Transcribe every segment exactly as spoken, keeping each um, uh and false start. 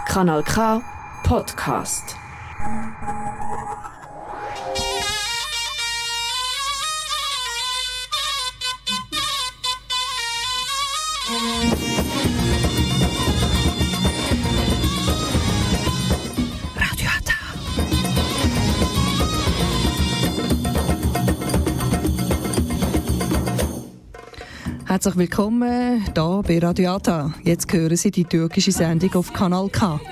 Kanal K Podcast. Herzlich willkommen hier bei Radio Ata. Jetzt hören Sie die türkische Sendung auf Kanal K.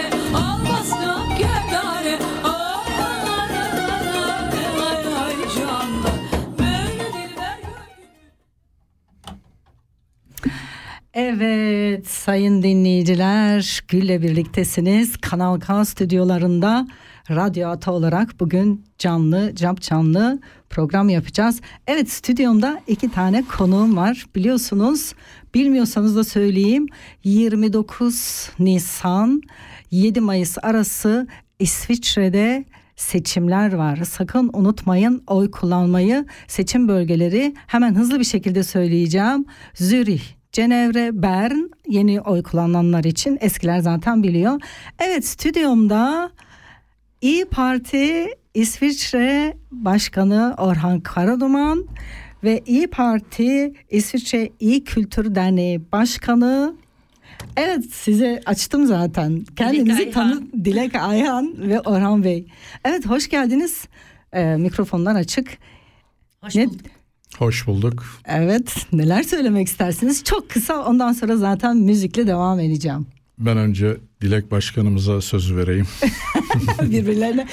Evet sayın dinleyiciler, Gül'le birliktesiniz. Kanal K stüdyolarında Radyo Ata olarak bugün canlı, cap canlı program yapacağız. Evet, stüdyomda iki tane konuğum var. Biliyorsunuz, bilmiyorsanız da söyleyeyim. yirmi dokuz Nisan yedi Mayıs arası İsviçre'de seçimler var. Sakın unutmayın oy kullanmayı. Seçim bölgeleri hemen hızlı bir şekilde söyleyeceğim. Zürih, Cenevre, Bern, yeni oy kullananlar için, eskiler zaten biliyor. Evet, stüdyomda İYİ Parti İsviçre Başkanı Orhan Karaduman ve İYİ Parti İsviçre İYİ Kültür Derneği Başkanı, evet size açtım zaten, kendinizi tanıt, Dilek Ayhan ve Orhan Bey. Evet, hoş geldiniz. Ee, mikrofonlar açık. Hoş ne, bulduk. Hoş bulduk. Evet, neler söylemek istersiniz? Çok kısa, ondan sonra zaten müzikle devam edeceğim. Ben önce Dilek Başkanımıza sözü vereyim. Birbirlerine.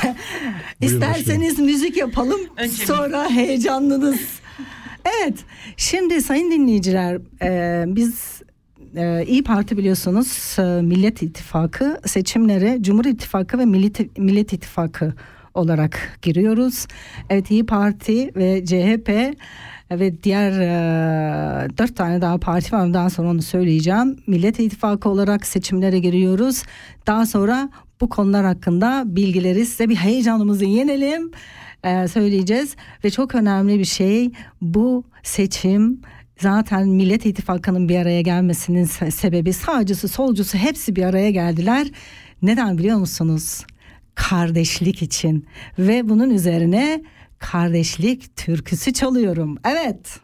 İsterseniz müzik yapalım, önce sonra heyecanlınız. Evet, şimdi sayın dinleyiciler, e, biz e, İYİ Parti biliyorsunuz e, Millet İttifakı seçimlere Cumhur İttifakı ve Millet, Millet İttifakı olarak giriyoruz. Evet, İYİ Parti ve C H P ve diğer e, dört tane daha parti var. Daha sonra onu söyleyeceğim. Millet İttifakı olarak seçimlere giriyoruz. Daha sonra bu konular hakkında bilgileri size, bir heyecanımızı yenelim e, söyleyeceğiz. Ve çok önemli bir şey, bu seçim zaten Millet İttifakı'nın bir araya gelmesinin sebebi, sağcısı solcusu hepsi bir araya geldiler. Neden biliyor musunuz? Kardeşlik için. Ve bunun üzerine kardeşlik türküsü çalıyorum. Evet.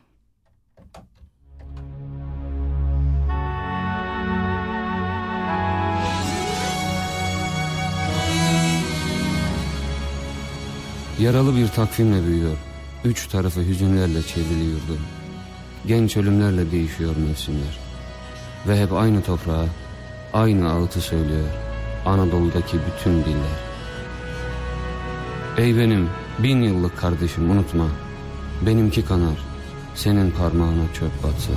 Yaralı bir takvimle büyüyor. Üç tarafı hüzünlerle çevrili yurdum. Genç ölümlerle değişiyor mevsimler. Ve hep aynı toprağa, aynı ağıtı söylüyor Anadolu'daki bütün diller. Ey benim bin yıllık kardeşim, unutma, benimki kanar, senin parmağına çöp batsa.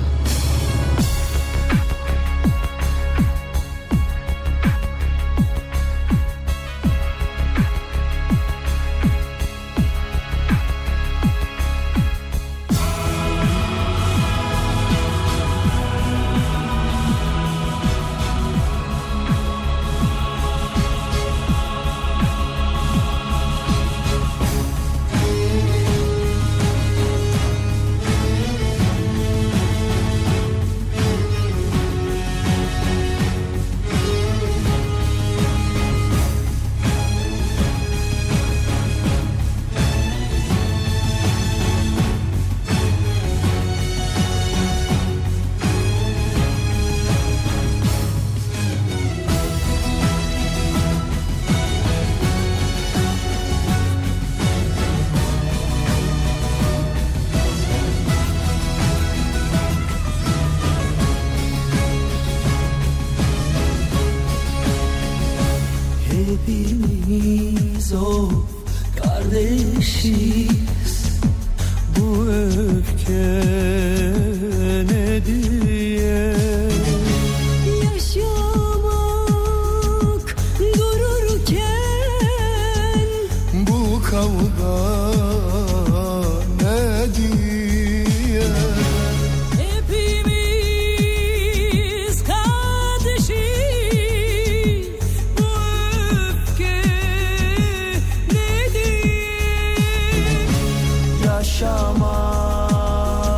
Hepimiz o kardeşiz, bu öfke ne diye yaşamak dururken bu kavga ne diye. Hepimiz kardeşiz, bu öfke ne diye yaşamak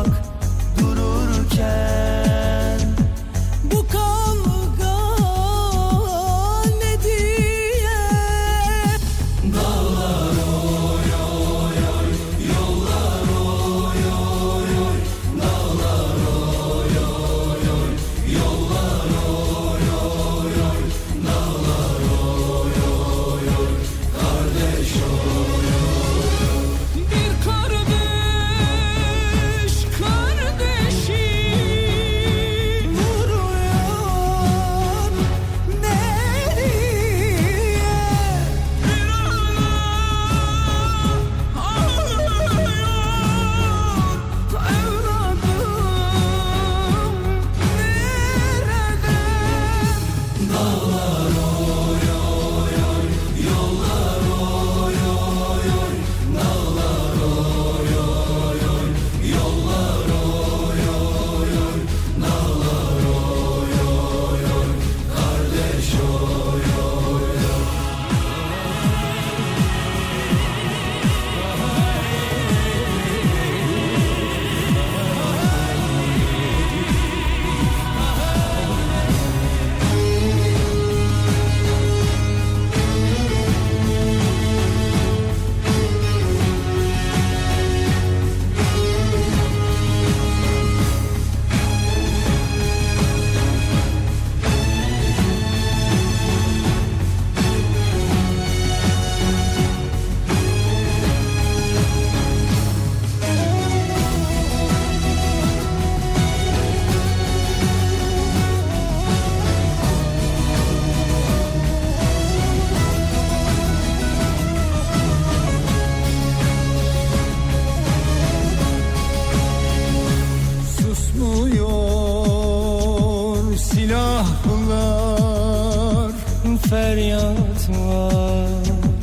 silahlar, feryat var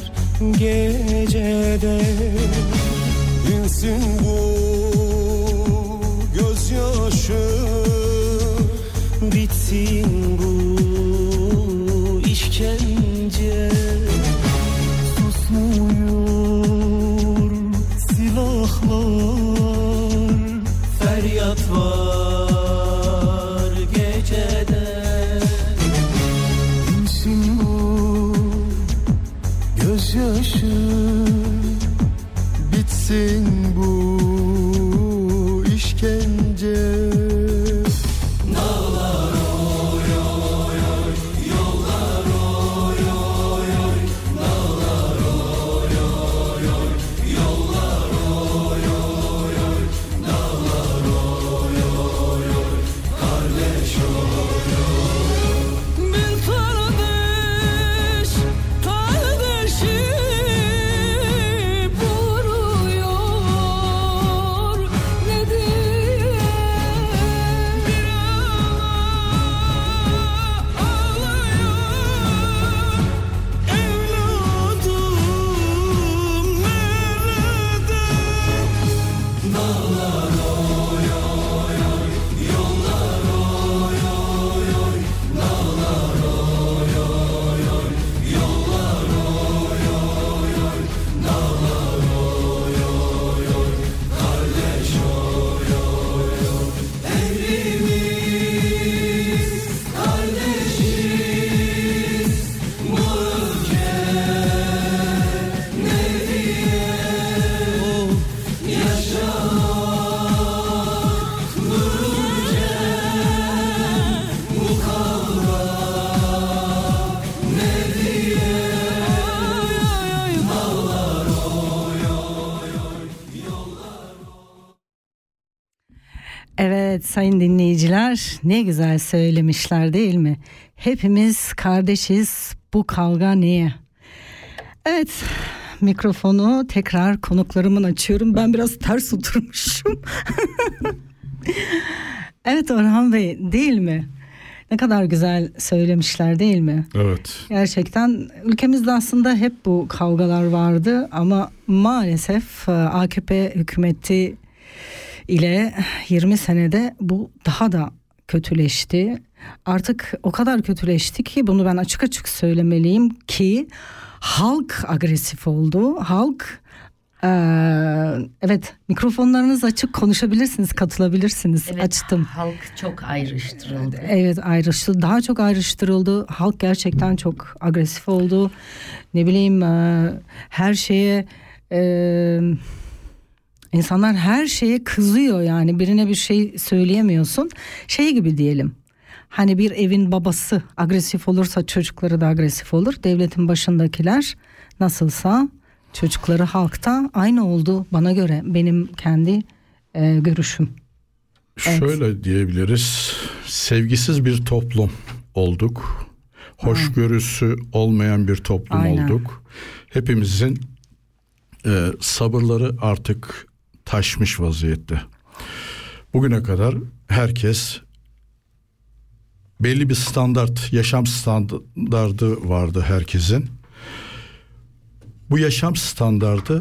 gecede. Dinsin bu gözyaşı, bitsin bu işkence. Susmuyor silahlar, feryat var gecede. Dinsin bu gözyaşı, bitsin bu işkence. Dağlar oy oy oy, yollar oy oy oy, dağlar oy oy oy, yollar oy oy oy, dağlar oy oy oy, kardeş oy oy. Bir kardeş kardeşi vuruyor ne diye, bir ağlıyor evladım nerede? Dağlar oy oy oy, yollar oy oy oy, dağlar oy oy oy, yollar oy oy oy, dağlar oy oy oy, kardeş oy oy oy. Emrimiz kardeşiz bu ülke ne diye, yaşamak dururken bu kavga ne diye. Dağlar oy oy oy, yollar. Evet sayın dinleyiciler, ne güzel söylemişler değil mi? Hepimiz kardeşiz, bu kavga niye? Evet, mikrofonu tekrar konuklarımın açıyorum. Ben biraz ters oturmuşum. Evet Orhan Bey, değil mi? Ne kadar güzel söylemişler değil mi? Evet. Gerçekten ülkemizde aslında hep bu kavgalar vardı ama maalesef e, A K P hükümeti ile yirmi senede bu daha da kötüleşti. Artık o kadar kötüleşti ki bunu ben açık açık söylemeliyim ki halk agresif oldu. Halk eee, evet, mikrofonlarınız açık, konuşabilirsiniz, katılabilirsiniz. Evet, Açtım. halk çok ayrıştırıldı. Evet, ayrıştı. Daha çok ayrıştırıldı. Halk gerçekten çok agresif oldu. Ne bileyim e, her şeye e, insanlar her şeye kızıyor yani. Birine bir şey söyleyemiyorsun. Şey gibi diyelim. Hani bir evin babası agresif olursa çocukları da agresif olur. Devletin başındakiler nasılsa çocukları halkta aynı oldu bana göre. Benim kendi e, görüşüm. Evet. Şöyle diyebiliriz. Sevgisiz bir toplum olduk. Hoşgörüsü olmayan bir toplum Aynen. olduk. Hepimizin e, sabırları artık taşmış vaziyette. Bugüne kadar herkes belli bir standart, yaşam standardı vardı herkesin. Bu yaşam standardı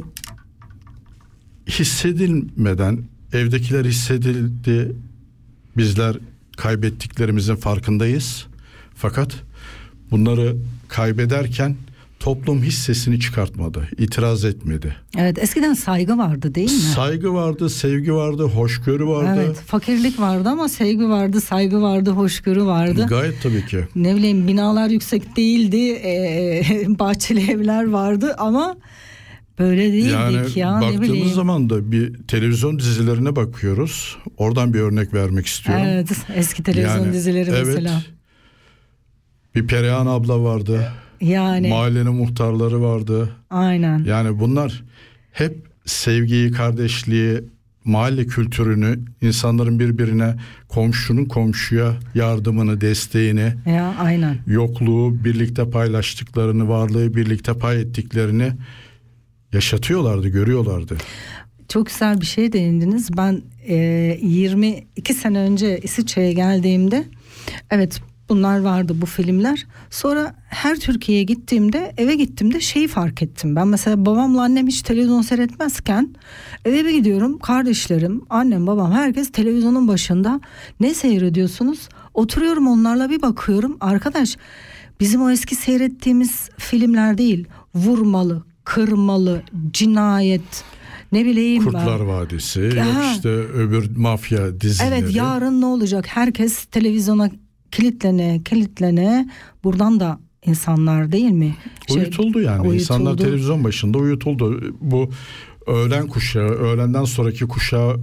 hissedilmeden, evdekiler hissedildi, bizler kaybettiklerimizin farkındayız. Fakat bunları kaybederken toplum hiç sesini çıkartmadı, itiraz etmedi. Evet, eskiden saygı vardı değil mi? Saygı vardı, sevgi vardı, hoşgörü vardı. Evet, fakirlik vardı ama sevgi vardı, saygı vardı, hoşgörü vardı. Gayet tabii ki. Ne bileyim, binalar yüksek değildi, ee, bahçeli evler vardı ama böyle değildik yani ya, ne bileyim. Baktığımız zaman da bir televizyon dizilerine bakıyoruz. Oradan bir örnek vermek istiyorum. Evet, eski televizyon Yani, dizileri evet, mesela. Bir Perihan abla vardı. Yani. Mahallenin muhtarları vardı. Aynen. Yani bunlar hep sevgiyi, kardeşliği, mahalle kültürünü, insanların birbirine, komşunun komşuya yardımını, desteğini, Ya aynen. yokluğu birlikte paylaştıklarını, varlığı birlikte pay ettiklerini yaşatıyorlardı, görüyorlardı. Çok güzel bir şey değindiniz. Ben e, yirmi iki sene önce İsviçre'ye geldiğimde, evet, Bunlar vardı, bu filmler. Sonra her Türkiye'ye gittiğimde, eve gittiğimde şeyi fark ettim. Ben mesela babamla annem hiç televizyon seyretmezken eve bir gidiyorum. Kardeşlerim, annem, babam, herkes televizyonun başında. Ne seyrediyorsunuz? Oturuyorum onlarla, bir bakıyorum. Arkadaş, bizim o eski seyrettiğimiz filmler değil. Vurmalı, kırmalı, cinayet, ne bileyim Kurtlar ben. Vadisi, Ya. yok işte öbür mafya dizileri. Evet, yarın ne olacak? Herkes televizyona kilitlene kilitlene, buradan da insanlar değil mi? Şey, Uyutuldu yani. uyutuldu. İnsanlar televizyon başında uyutuldu. Bu öğlen kuşağı, öğlenden sonraki kuşağı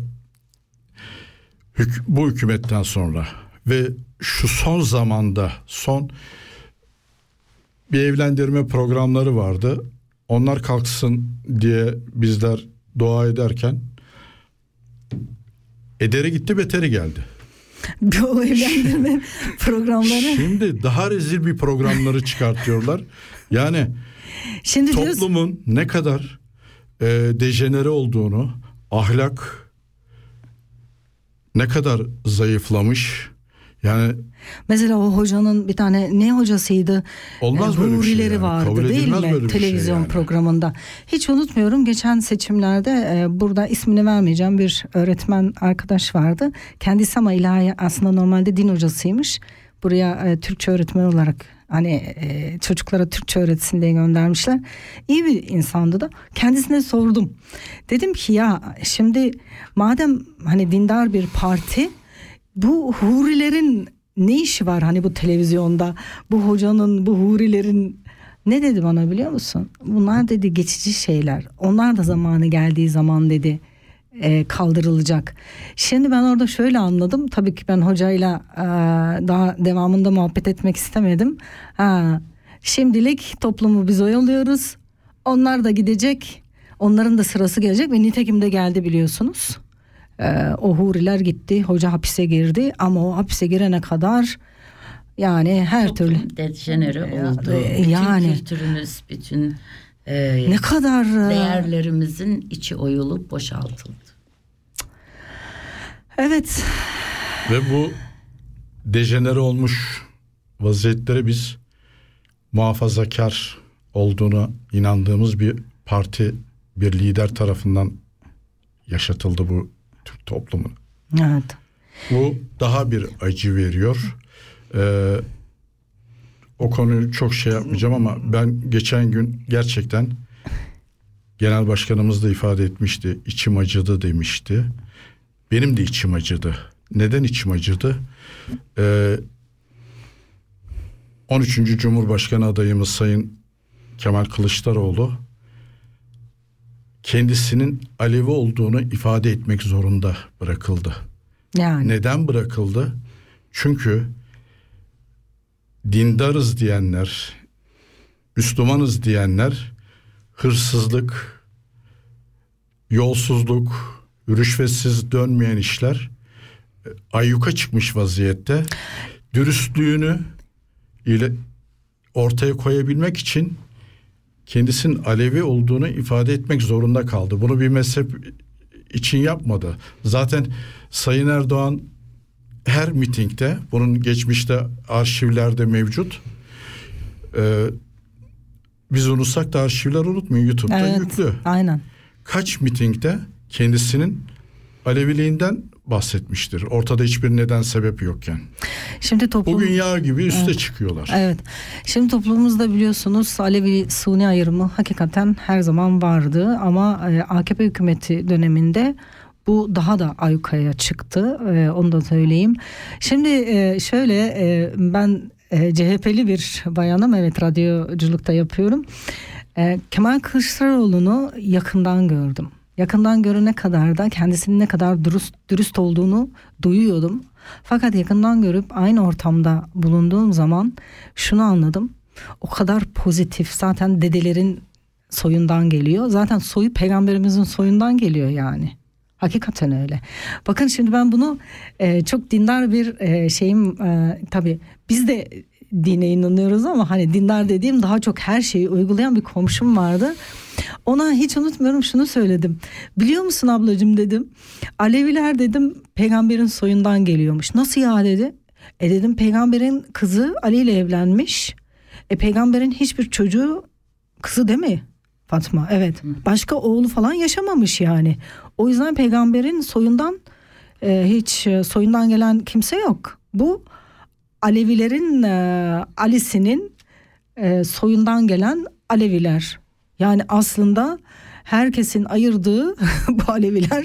hük- bu hükümetten sonra ve şu son zamanda son bir evlendirme programları vardı. Onlar kalksın diye bizler dua ederken ederi gitti, beteri geldi. O evlendirme programları. Şimdi daha rezil bir programları çıkartıyorlar. Yani Şimdi diyoruz, toplumun ne kadar e, dejenere olduğunu, ahlak ne kadar zayıflamış. Yani mesela o hocanın bir tane ne hocasıydı? olmaz Ee, böyle bir şey hurileri yani. vardı Kabul değil edilmez mi? böyle bir şey Televizyon yani. programında. Hiç unutmuyorum, geçen seçimlerde e, burada ismini vermeyeceğim bir öğretmen arkadaş vardı. Kendisi ama ilahi, aslında normalde din hocasıymış. Buraya e, Türkçe öğretmen olarak hani e, çocuklara Türkçe öğretsin diye göndermişler. İyi bir insandı da. Kendisine sordum. Dedim ki ya şimdi madem hani dindar bir parti, bu hurilerin ne işi var hani bu televizyonda? Bu hocanın, bu hurilerin, ne dedi bana biliyor musun? Bunlar dedi geçici şeyler. Onlar da zamanı geldiği zaman dedi e, kaldırılacak. Şimdi ben orada şöyle anladım. Tabii ki ben hocayla e, daha devamında muhabbet etmek istemedim. Ha, şimdilik toplumu biz oyalıyoruz. Onlar da gidecek. Onların da sırası gelecek ve nitekim de geldi biliyorsunuz. Ee, o huriler gitti, hoca hapise girdi ama o hapise girene kadar yani her Toplum türlü dejenere oldu. e, Bütün yani. kültürümüz, bütün e, ne kadar e, değerlerimizin içi oyulup boşaltıldı. evet, ve bu dejenere olmuş vaziyetlere biz muhafazakar olduğunu inandığımız bir parti, bir lider tarafından yaşatıldı bu Türk toplumu. evet. Bu daha bir acı veriyor. Ee, o konuyu çok şey yapmayacağım ama ben geçen gün gerçekten genel başkanımız da ifade etmişti. İçim acıdı demişti. Benim de içim acıdı. Neden içim acıdı? Ee, on üçüncü Cumhurbaşkanı adayımız Sayın Kemal Kılıçdaroğlu kendisinin Alevi olduğunu ifade etmek zorunda bırakıldı. Yani Neden bırakıldı? Çünkü dindarız diyenler, Müslümanız diyenler hırsızlık, yolsuzluk, rüşvetsiz dönmeyen işler ayyuka çıkmış vaziyette. Dürüstlüğünü ile ortaya koyabilmek için kendisinin Alevi olduğunu ifade etmek zorunda kaldı. Bunu bir mezhep için yapmadı. Zaten Sayın Erdoğan her mitingde, bunun geçmişte arşivlerde mevcut. Ee, biz unutsak da arşivler unutmuyor, YouTube'da evet, yüklü. aynen. Kaç mitingde kendisinin Aleviliğinden bahsetmiştir. Ortada hiçbir neden sebep yokken. Şimdi toplum, Bugün yağ gibi üste evet. çıkıyorlar. Evet. Şimdi toplumumuzda biliyorsunuz Alevi Suni ayrımı hakikaten her zaman vardı ama e, A K P hükümeti döneminde bu daha da ayyukaya çıktı. E, onu da söyleyeyim. Şimdi e, şöyle e, ben e, C H P'li bir bayanım, evet, radyoculukta yapıyorum. E, Kemal Kılıçdaroğlu'nu yakından gördüm. Yakından görene kadar da kendisinin ne kadar dürüst, dürüst olduğunu duyuyordum. Fakat yakından görüp aynı ortamda bulunduğum zaman şunu anladım. O kadar pozitif, zaten dedelerin soyundan geliyor. Zaten soyu peygamberimizin soyundan geliyor yani. Hakikaten öyle. Bakın şimdi ben bunu e, çok dindar bir e, şeyim e, tabii biz de dine inanıyoruz ama hani dindar dediğim daha çok her şeyi uygulayan bir komşum vardı. Ona hiç unutmuyorum şunu söyledim. Biliyor musun ablacığım dedim. Aleviler dedim peygamberin soyundan geliyormuş. Nasıl ya dedi. E dedim peygamberin kızı Ali ile evlenmiş. E peygamberin hiçbir çocuğu kızı değil mi Fatma? Evet. Başka oğlu falan yaşamamış yani. O yüzden peygamberin soyundan e, hiç e, soyundan gelen kimse yok. Bu Alevilerin e, Ali'sinin e, soyundan gelen Aleviler. Yani aslında herkesin ayırdığı bu Aleviler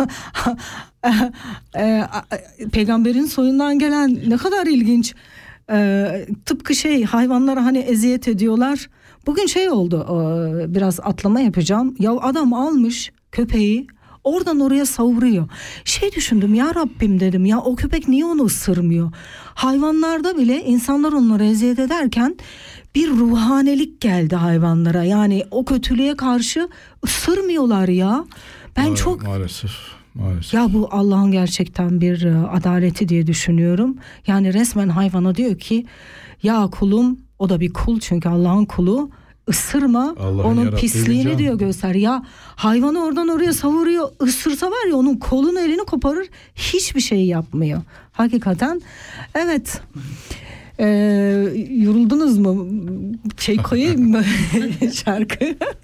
e, e, peygamberin soyundan gelen, ne kadar ilginç. E, tıpkı şey, hayvanlara hani eziyet ediyorlar. Bugün şey oldu, e, biraz atlama yapacağım. Ya adam almış köpeği, oradan oraya savuruyor. Şey düşündüm, ya Rabbim dedim, ya o köpek niye onu ısırmıyor? Hayvanlarda bile insanlar onları eziyet ederken bir ruhanelik geldi hayvanlara. Yani o kötülüğe karşı ısırmıyorlar ya. Ben Ma- çok maalesef maalesef. ya bu Allah'ın gerçekten bir e, adaleti diye düşünüyorum. Yani resmen hayvana diyor ki ya kulum, o da bir kul çünkü Allah'ın kulu, ısırma, Allah'ın onun yarattığı pisliğini bir can. diyor göster. Ya hayvanı oradan oraya savuruyor, ısırsa var ya onun kolunu elini koparır, hiçbir şey yapmıyor. Hakikaten evet. Ee, yoruldunuz mu? Şey koyayım mı şarkı?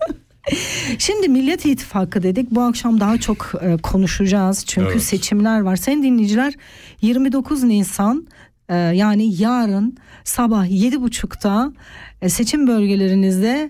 Şimdi Millet İttifakı dedik. Bu akşam daha çok e, konuşacağız. Çünkü Evet. seçimler var. Sayın dinleyiciler, yirmi dokuz Nisan e, yani yarın sabah yedi buçukta e, seçim bölgelerinizde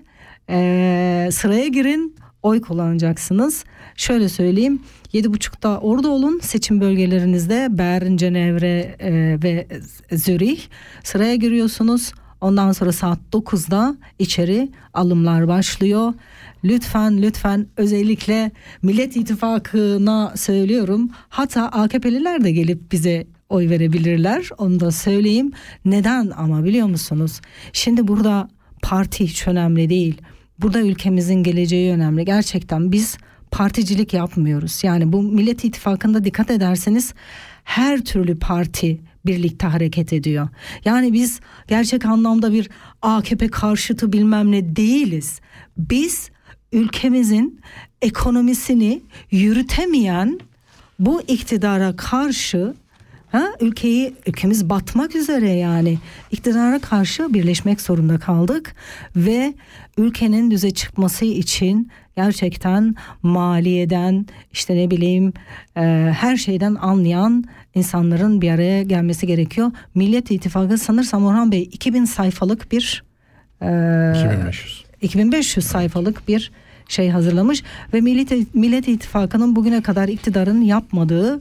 e, sıraya girin. Oy kullanacaksınız. Şöyle söyleyeyim. yedi buçukta orada olun. Seçim bölgelerinizde Bern, Cenevre e, ve Zürih sıraya giriyorsunuz. Ondan sonra saat dokuzda içeri alımlar başlıyor. Lütfen lütfen özellikle Millet İttifakı'na söylüyorum. Hatta A K P'liler de gelip bize oy verebilirler. Onu da söyleyeyim. Neden ama biliyor musunuz? Şimdi burada parti hiç önemli değil. Burada ülkemizin geleceği önemli. Gerçekten biz particilik yapmıyoruz. Yani bu Millet İttifakı'nda dikkat ederseniz her türlü parti birlikte hareket ediyor. Yani biz gerçek anlamda bir A K P karşıtı bilmem ne değiliz. Biz ülkemizin ekonomisini yürütemeyen bu iktidara karşı, ha, ülkeyi ülkemiz batmak üzere, yani iktidara karşı birleşmek zorunda kaldık ve ülkenin düze çıkması için gerçekten maliyeden, işte ne bileyim e, her şeyden anlayan insanların bir araya gelmesi gerekiyor. Millet İttifakı sanırsam Orhan Bey iki bin sayfalık bir e, iki bin beş yüz iki bin beş yüz sayfalık bir şey hazırlamış ve Millet, Millet İttifakı'nın bugüne kadar iktidarın yapmadığı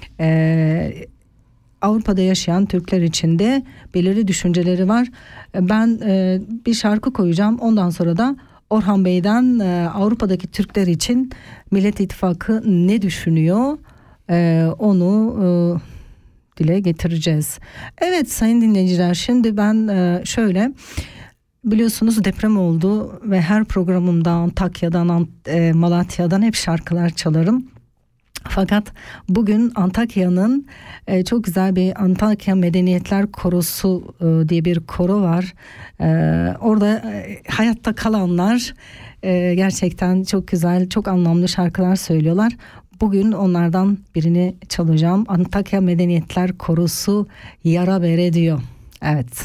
e, Avrupa'da yaşayan Türkler için de belirli düşünceleri var. Ben e, bir şarkı koyacağım, ondan sonra da Orhan Bey'den e, Avrupa'daki Türkler için Millet İttifakı ne düşünüyor e, onu e, dile getireceğiz. Evet sayın dinleyiciler, şimdi ben e, şöyle, biliyorsunuz deprem oldu ve her programımda Antakya'dan, e, Malatya'dan hep şarkılar çalarım. Fakat bugün Antakya'nın e, çok güzel bir Antakya Medeniyetler Korosu e, diye bir koro var. E, orada e, hayatta kalanlar e, gerçekten çok güzel, çok anlamlı şarkılar söylüyorlar. Bugün onlardan birini çalacağım. Antakya Medeniyetler Korosu Yara Bere diyor. Evet.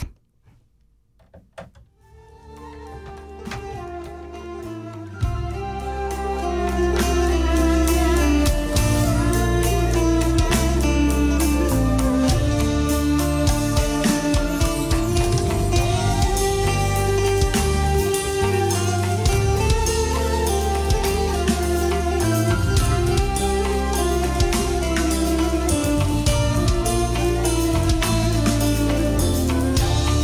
Yara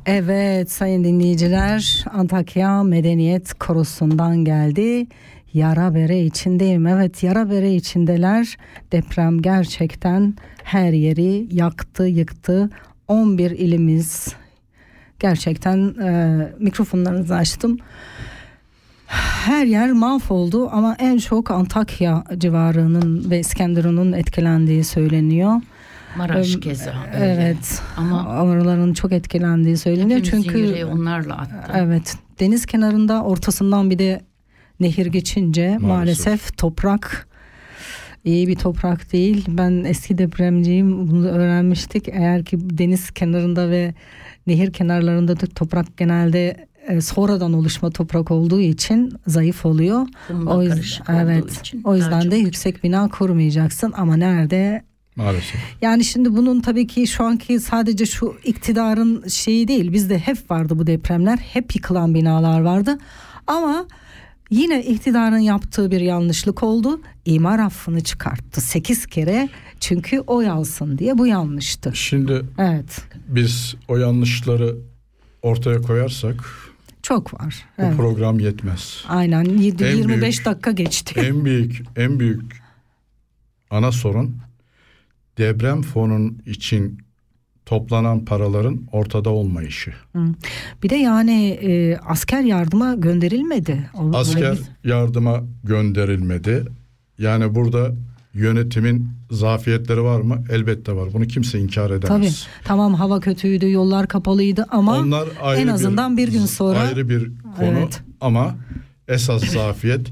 Evet sayın dinleyiciler, Antakya Medeniyet Korosu'ndan geldi. Yara bere içindeyim. Evet, yara bere içindeler. Deprem gerçekten her yeri yaktı, yıktı. on bir ilimiz. Gerçekten e, mikrofonlarınızı açtım. Her yer mahvoldu ama en çok Antakya civarının ve İskenderun'un etkilendiği söyleniyor. Maraş Ee, keza öyle. Evet. Ama oraların çok etkilendiği söyleniyor. hepimizin Çünkü yüreği onlarla attı. evet, deniz kenarında ortasından bir de nehir geçince maalesef, Maalesef. toprak iyi bir toprak değil. Ben eski depremciyim, bunu öğrenmiştik. Eğer ki deniz kenarında ve nehir kenarlarında da toprak genelde e, sonradan oluşma toprak olduğu için zayıf oluyor. Kumla O yüzden karışık olduğu evet. için O yüzden daha de çok- yüksek bina kurmayacaksın ama nerede? Maalesef. Yani şimdi bunun tabii ki şu anki sadece şu iktidarın şeyi değil. Bizde hep vardı bu depremler. Hep yıkılan binalar vardı. Ama yine iktidarın yaptığı bir yanlışlık oldu. İmar affını çıkarttı sekiz kere. Çünkü oy alsın diye, bu yanlıştı. Şimdi Evet. biz o yanlışları ortaya koyarsak Çok var. bu Evet. program yetmez. Aynen yedi, En yirmi beş büyük- dakika geçti. En büyük en büyük ana sorun deprem fonun için toplanan paraların ortada olmayışı. Bir de yani e, asker yardıma gönderilmedi. O- Asker yardıma gönderilmedi. Yani burada yönetimin zafiyetleri var mı? Elbette var. Bunu kimse inkar edemez. Tabii. Tamam, hava kötüydü, yollar kapalıydı ama Onlar ayrı en azından bir gün sonra- ayrı bir konu Evet. ama esas zafiyet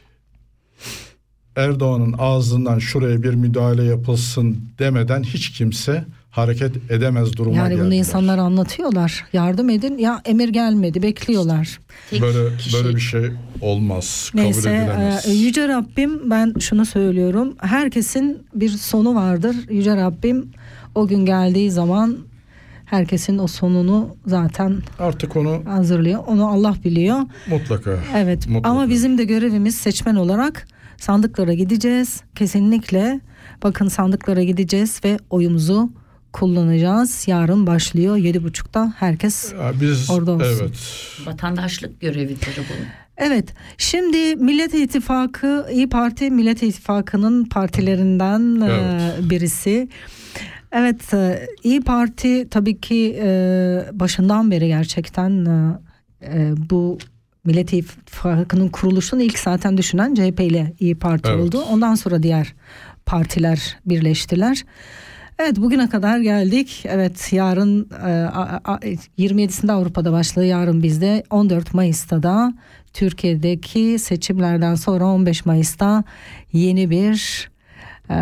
Erdoğan'ın ağzından şuraya bir müdahale yapılsın demeden hiç kimse hareket edemez duruma yani geldiler. bunu insanlar anlatıyorlar. Yardım edin, ya emir gelmedi, bekliyorlar. Tek Böyle kişi- böyle bir şey olmaz. Neyse, kabul edilemez. e, Yüce Rabbim, ben şunu söylüyorum. Herkesin bir sonu vardır. Yüce Rabbim o gün geldiği zaman herkesin o sonunu zaten Artık onu hazırlıyor. Onu Allah biliyor. mutlaka. Evet. mutlaka. Ama bizim de görevimiz seçmen olarak sandıklara gideceğiz. Kesinlikle bakın, sandıklara gideceğiz ve oyumuzu kullanacağız. Yarın başlıyor yedi buçukta. Herkes Ya biz orada olsun. evet. Vatandaşlık görevidir bu. Evet, şimdi Millet İttifakı, İyi Parti Millet İttifakı'nın partilerinden Evet. e, birisi. Evet, e, İyi Parti tabii ki e, başından beri gerçekten e, e, bu Millet İttifakı'nın kuruluşunu ilk zaten düşünen C H P ile İyi Parti Evet. oldu. Ondan sonra diğer partiler birleştiler. Evet, bugüne kadar geldik. Evet, yarın e, a- a- yirmi yedisinde Avrupa'da başlıyor, yarın bizde. on dört Mayıs'ta da Türkiye'deki seçimlerden sonra on beş Mayıs'ta yeni bir e,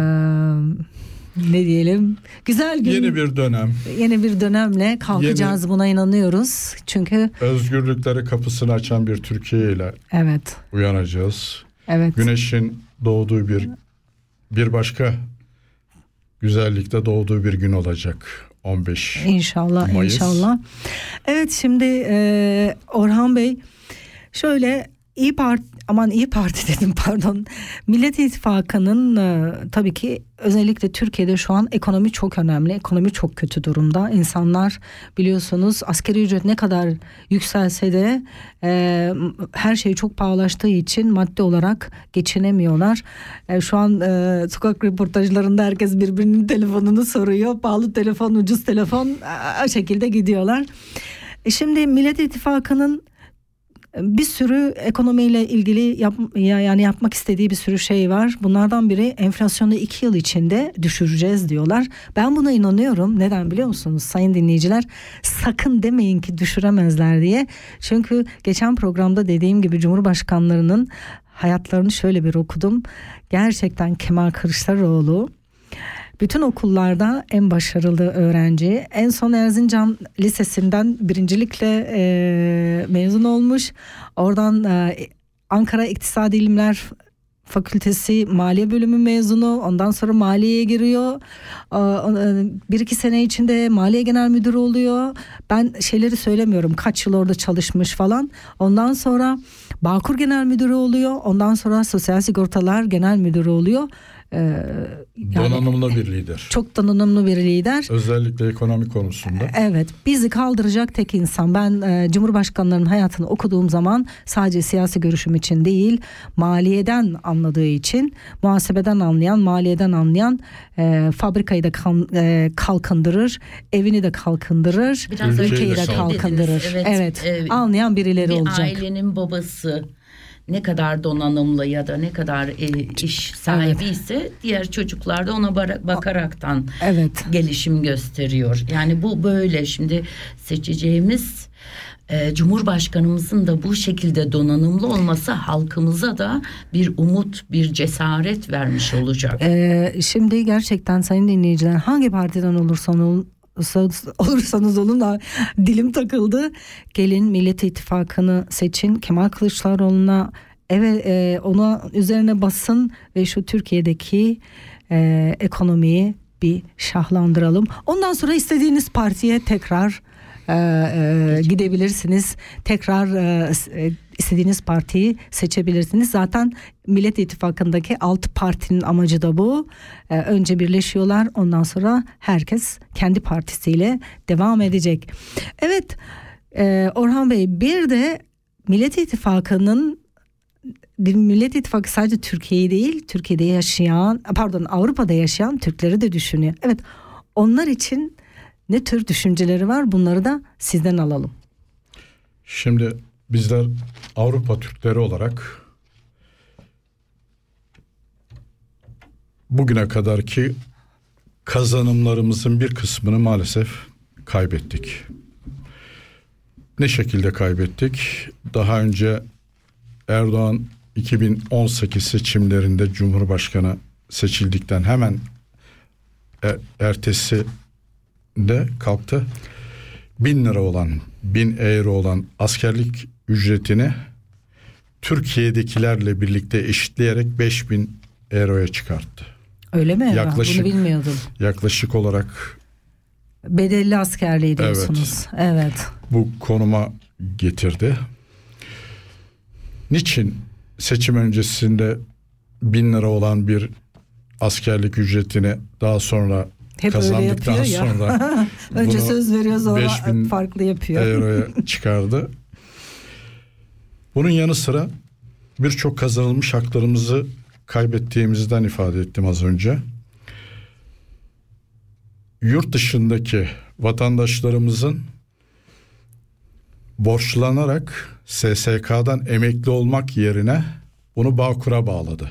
ne diyelim, güzel gün, Yeni bir dönem. yeni bir dönemle kalkacağız, buna inanıyoruz. Çünkü Özgürlükleri kapısını açan bir Türkiye ile evet, uyanacağız. evet. Güneşin doğduğu bir bir başka güzellikte doğduğu bir gün olacak. on beş İnşallah, Mayıs. inşallah. Evet, şimdi e, Orhan Bey, şöyle İyi Parti, aman İyi Parti dedim pardon. Millet İttifakı'nın e, tabii ki özellikle Türkiye'de şu an ekonomi çok önemli. Ekonomi çok kötü durumda. İnsanlar biliyorsunuz asgari ücret ne kadar yükselse de e, her şey çok pahalaştığı için maddi olarak geçinemiyorlar. E, şu an e, sokak röportajlarında herkes birbirinin telefonunu soruyor. Pahalı telefon, ucuz telefon, e, o şekilde gidiyorlar. E, şimdi Millet İttifakı'nın bir sürü ekonomiyle ilgili yap, yani yapmak istediği bir sürü şey var. Bunlardan biri enflasyonu iki yıl içinde düşüreceğiz diyorlar. Ben buna inanıyorum. Neden biliyor musunuz sayın dinleyiciler? Sakın demeyin ki düşüremezler diye. Çünkü geçen programda dediğim gibi Cumhurbaşkanlarının hayatlarını şöyle bir okudum. Gerçekten Kemal Kılıçdaroğlu bütün okullarda en başarılı öğrenci. En son Erzincan Lisesi'nden birincilikle e, mezun olmuş. Oradan e, Ankara İktisadi İlimler Fakültesi Maliye Bölümü mezunu. Ondan sonra maliyeye giriyor. Bir iki sene içinde Maliye Genel Müdürü oluyor. Ben şeyleri söylemiyorum. Kaç yıl orada çalışmış falan. Ondan sonra Bağkur Genel Müdürü oluyor. Ondan sonra Sosyal Sigortalar Genel Müdürü oluyor. e, yani donanımlı bir lider. çok donanımlı bir lider. Özellikle ekonomi konusunda. Evet, bizi kaldıracak tek insan. Ben e, Cumhurbaşkanlarının hayatını okuduğum zaman sadece siyasi görüşüm için değil, maliyeden anladığı için, muhasebeden anlayan, maliyeden anlayan, e, fabrikayı da kan, e, kalkındırır, evini de kalkındırır, Biraz Ülkeyi ülkeyi de de kalkındırır. kalkındırır. Evet, Evet, e, anlayan birileri bir olacak. ailenin babası ne kadar donanımlı ya da ne kadar e, iş sahibi ise diğer çocuklar da ona bara- bakaraktan Evet. gelişim gösteriyor. Yani bu böyle. Şimdi seçeceğimiz e, Cumhurbaşkanımızın da bu şekilde donanımlı olması halkımıza da bir umut, bir cesaret vermiş olacak. Ee, şimdi gerçekten sayın dinleyiciler, hangi partiden olursan ol, olursanız olun da dilim takıldı. Gelin Millet İttifakı'nı seçin, Kemal Kılıçdaroğlu'na evet, e, ona üzerine basın ve şu Türkiye'deki e, ekonomiyi bir şahlandıralım. Ondan sonra istediğiniz partiye tekrar e, e, gidebilirsiniz. Tekrar e, istediğiniz partiyi seçebilirsiniz. Zaten Millet İttifakı'ndaki altı partinin amacı da bu. E, önce birleşiyorlar, ondan sonra herkes kendi partisiyle devam edecek. Evet, e, Orhan Bey, bir de Millet İttifakı'nın Millet İttifakı sadece Türkiye'yi değil, Türkiye'de yaşayan, pardon Avrupa'da yaşayan Türkleri de düşünüyor. Evet, onlar için ne tür düşünceleri var, bunları da sizden alalım. Şimdi bizler Avrupa Türkleri olarak bugüne kadarki kazanımlarımızın bir kısmını maalesef kaybettik. Ne şekilde kaybettik? Daha önce Erdoğan iki bin on sekiz seçimlerinde Cumhurbaşkanı seçildikten hemen er, ertesi de kalktı. Bin lira olan, bin euro olan askerlik ücretini Türkiye'dekilerle birlikte eşitleyerek beş bin euroya çıkarttı. Öyle mi? Yaklaşık, ben bunu bilmiyordum. Yaklaşık olarak Bedelli askerliği diyorsunuz. Evet. evet. Bu konuma getirdi. Niçin seçim öncesinde bin lira olan bir askerlik ücretini daha sonra hep kazandıktan sonra önce söz veriyor, sonra beş bin farklı yapıyor. euroya çıkardı. Bunun yanı sıra birçok kazanılmış haklarımızı kaybettiğimizden ifade ettim az önce. Yurt dışındaki vatandaşlarımızın borçlanarak S S K'dan emekli olmak yerine bunu Bağkur'a bağladı.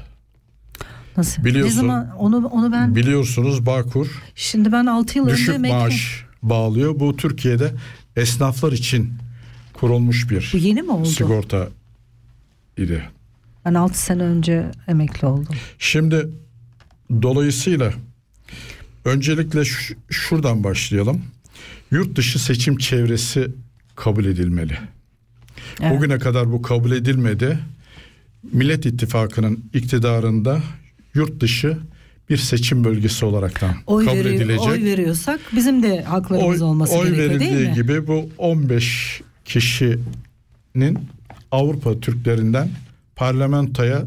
Nasıl? Biliyorsun, ne zaman onu onu ben biliyorsunuz Bağkur şimdi ben altı yıl düşük önce emekli. maaş bağlıyor. Bu Türkiye'de esnaflar için kurulmuş bir Bu yeni mi oldu? sigorta idi. Ben altı sene önce emekli oldum. Şimdi dolayısıyla öncelikle ş- şuradan başlayalım. Yurt dışı seçim çevresi kabul edilmeli. Evet. Bugüne kadar bu kabul edilmedi. Millet İttifakı'nın iktidarında yurt dışı bir seçim bölgesi olaraktan Oy, kabul veri, edilecek. oy veriyorsak bizim de haklarımız Oy, olması oy gerekiyor değil verildiği mi? gibi bu on beş kişinin Avrupa Türklerinden parlamentoya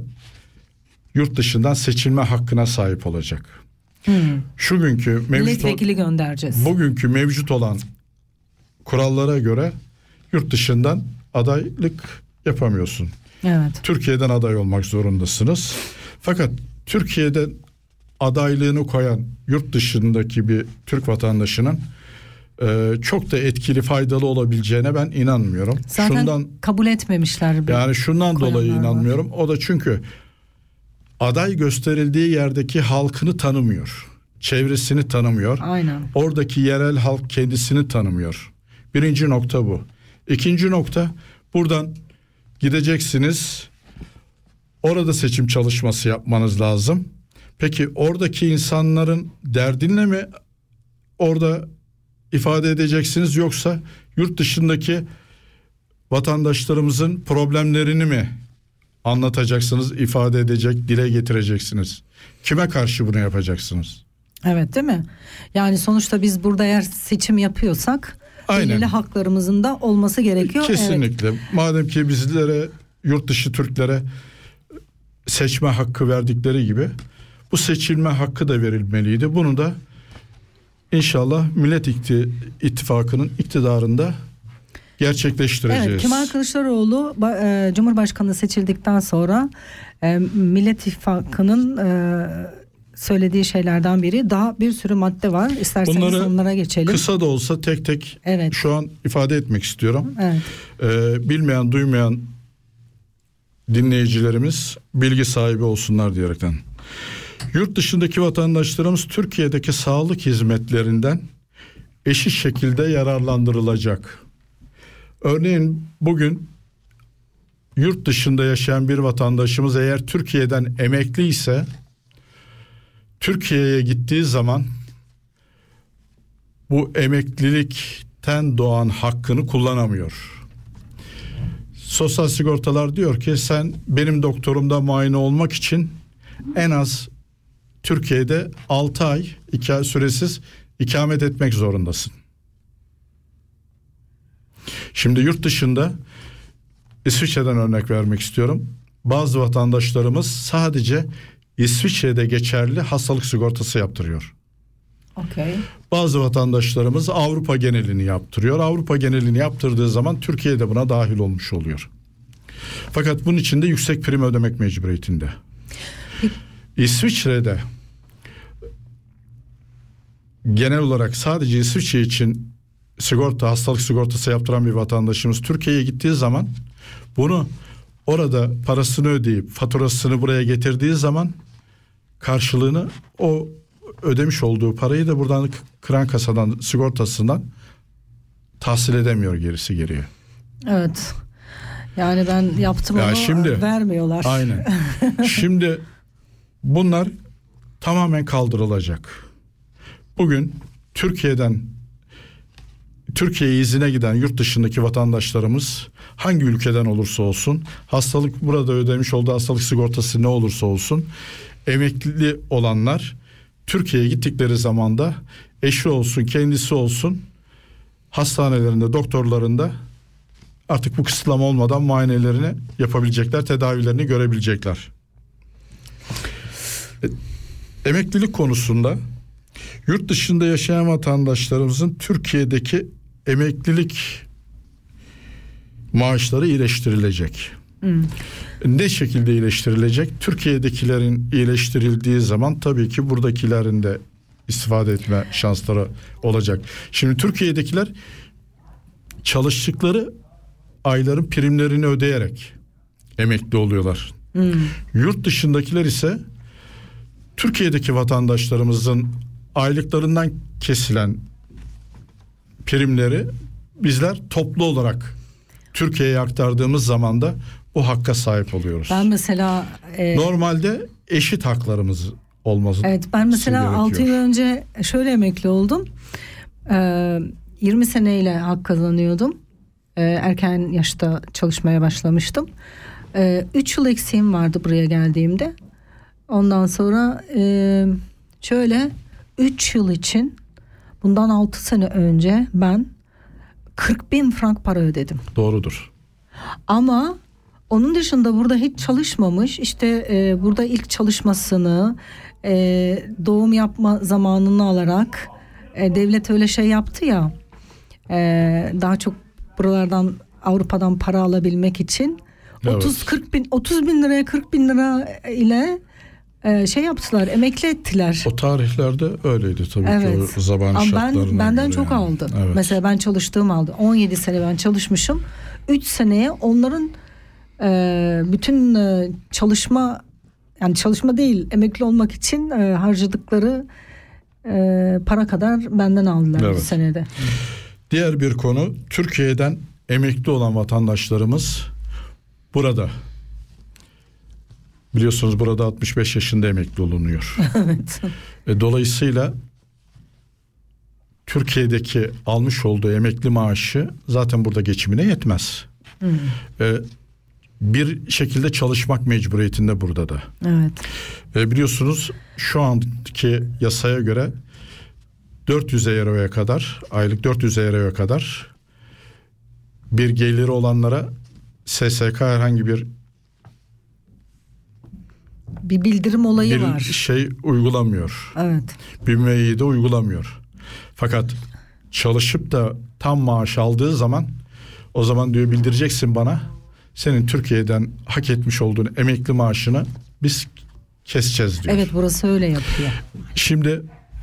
yurt dışından seçilme hakkına sahip olacak. Hmm. Şu günkü mevcut Milletvekili göndereceğiz. bugünkü mevcut olan kurallara göre yurt dışından adaylık yapamıyorsun. Evet. Türkiye'den aday olmak zorundasınız. Fakat Türkiye'de adaylığını koyan yurt dışındaki bir Türk vatandaşının e, çok da etkili, faydalı olabileceğine ben inanmıyorum. Zaten şundan kabul etmemişler. yani şundan dolayı koyanlar var. inanmıyorum. O da çünkü aday gösterildiği yerdeki halkını tanımıyor. Çevresini tanımıyor. Aynen. Oradaki yerel halk kendisini tanımıyor. Birinci nokta bu. İkinci nokta, buradan gideceksiniz. Orada seçim çalışması yapmanız lazım. Peki oradaki insanların derdinle mi orada ifade edeceksiniz, yoksa yurt dışındaki vatandaşlarımızın problemlerini mi anlatacaksınız, ifade edecek, dile getireceksiniz? Kime karşı bunu yapacaksınız? Evet, değil mi? Yani sonuçta biz burada eğer seçim yapıyorsak Aynen. belirli haklarımızın da olması gerekiyor. Kesinlikle. Evet. Madem ki bizlere, yurt dışı Türklere seçme hakkı verdikleri gibi bu seçilme hakkı da verilmeliydi. Bunu da İnşallah Millet İttifakı'nın iktidarında gerçekleştireceğiz. Evet, Kemal Kılıçdaroğlu e, Cumhurbaşkanı seçildikten sonra e, Millet İttifakı'nın e, söylediği şeylerden biri, daha bir sürü madde var. İsterseniz bunları onlara geçelim. Kısa da olsa tek tek evet. şu an ifade etmek istiyorum. Evet. E, bilmeyen, duymayan dinleyicilerimiz bilgi sahibi olsunlar diyerekten. Yurt dışındaki vatandaşlarımız Türkiye'deki sağlık hizmetlerinden eşit şekilde yararlandırılacak. Örneğin bugün yurt dışında yaşayan bir vatandaşımız eğer Türkiye'den emekli ise Türkiye'ye gittiği zaman bu emeklilikten doğan hakkını kullanamıyor. Sosyal sigortalar diyor ki sen benim doktorumda muayene olmak için en az Türkiye'de altı ay iki ay süresiz ikamet etmek zorundasın. Şimdi yurt dışında İsviçre'den örnek vermek istiyorum. Bazı vatandaşlarımız sadece İsviçre'de geçerli hastalık sigortası yaptırıyor. Okay. Bazı vatandaşlarımız Avrupa genelini yaptırıyor. Avrupa genelini yaptırdığı zaman Türkiye'de buna dahil olmuş oluyor. Fakat bunun için de yüksek prim ödemek mecburiyetinde. İsviçre'de genel olarak sadece İsviçre için sigorta, hastalık sigortası yaptıran bir vatandaşımız Türkiye'ye gittiği zaman bunu orada parasını ödeyip faturasını buraya getirdiği zaman karşılığını o ödemiş olduğu parayı da buradan kıran kasadan, sigortasından tahsil edemiyor, gerisi geriye. Evet. Yani ben yaptım ya onu şimdi, vermiyorlar. Aynen. Şimdi bunlar tamamen kaldırılacak. Bugün Türkiye'den Türkiye'ye izine giden yurt dışındaki vatandaşlarımız hangi ülkeden olursa olsun, hastalık burada ödemiş olduğu hastalık sigortası ne olursa olsun, emekli olanlar Türkiye'ye gittikleri zaman da eşi olsun, kendisi olsun, hastanelerinde, doktorlarında artık bu kısıtlama olmadan muayenelerini yapabilecekler, tedavilerini görebilecekler. Emeklilik konusunda yurt dışında yaşayan vatandaşlarımızın Türkiye'deki emeklilik maaşları iyileştirilecek. Hmm. Ne şekilde iyileştirilecek? Türkiye'dekilerin iyileştirildiği zaman tabii ki buradakilerin de istifade etme şansları olacak. Şimdi Türkiye'dekiler çalıştıkları ayların primlerini ödeyerek emekli oluyorlar. Hmm. Yurt dışındakiler ise Türkiye'deki vatandaşlarımızın aylıklarından kesilen primleri bizler toplu olarak Türkiye'ye aktardığımız zaman da bu hakka sahip oluyoruz. Ben mesela e, normalde eşit haklarımız olması. Evet, ben mesela altı yıl önce şöyle emekli oldum. Ee, yirmi seneyle hak kazanıyordum. Ee, erken yaşta çalışmaya başlamıştım. Ee, üç yıl eksiğim vardı buraya geldiğimde. Ondan sonra e, şöyle üç yıl için bundan altı sene önce ben kırk bin frank para ödedim. Doğrudur. Ama onun dışında burada hiç çalışmamış, işte e, burada ilk çalışmasını e, doğum yapma zamanını alarak e, devlet öyle şey yaptı ya, e, daha çok buralardan, Avrupa'dan para alabilmek için evet. otuz kırk bin otuz bin liraya kırk bin lira ile e, şey yaptılar, emekli ettiler. O tarihlerde öyleydi tabii evet. ki o zaman ama şartlarına ben, benden göre çok yani. aldı. Evet. Mesela ben çalıştığım aldı. on yedi sene ben çalışmışım. üç seneye onların e, bütün e, çalışma, yani çalışma değil, emekli olmak için e, harcadıkları e, para kadar benden aldılar evet. bir senede. Diğer bir konu, Türkiye'den emekli olan vatandaşlarımız burada. Biliyorsunuz burada altmış beş yaşında emekli olunuyor. Evet. E, dolayısıyla Türkiye'deki almış olduğu emekli maaşı zaten burada geçimine yetmez. Hmm. E, bir şekilde çalışmak mecburiyetinde burada da. Evet. E, biliyorsunuz şu anki yasaya göre dört yüz euroya kadar, aylık dört yüz euroya kadar bir geliri olanlara S S K herhangi bir bir bildirim olayı bir var. şey uygulamıyor. Evet. Bir müeyyide uygulamıyor. Fakat çalışıp da tam maaş aldığı zaman o zaman diyor bildireceksin bana, senin Türkiye'den hak etmiş olduğun emekli maaşını biz keseceğiz diyor. Evet, burası öyle yapıyor. Şimdi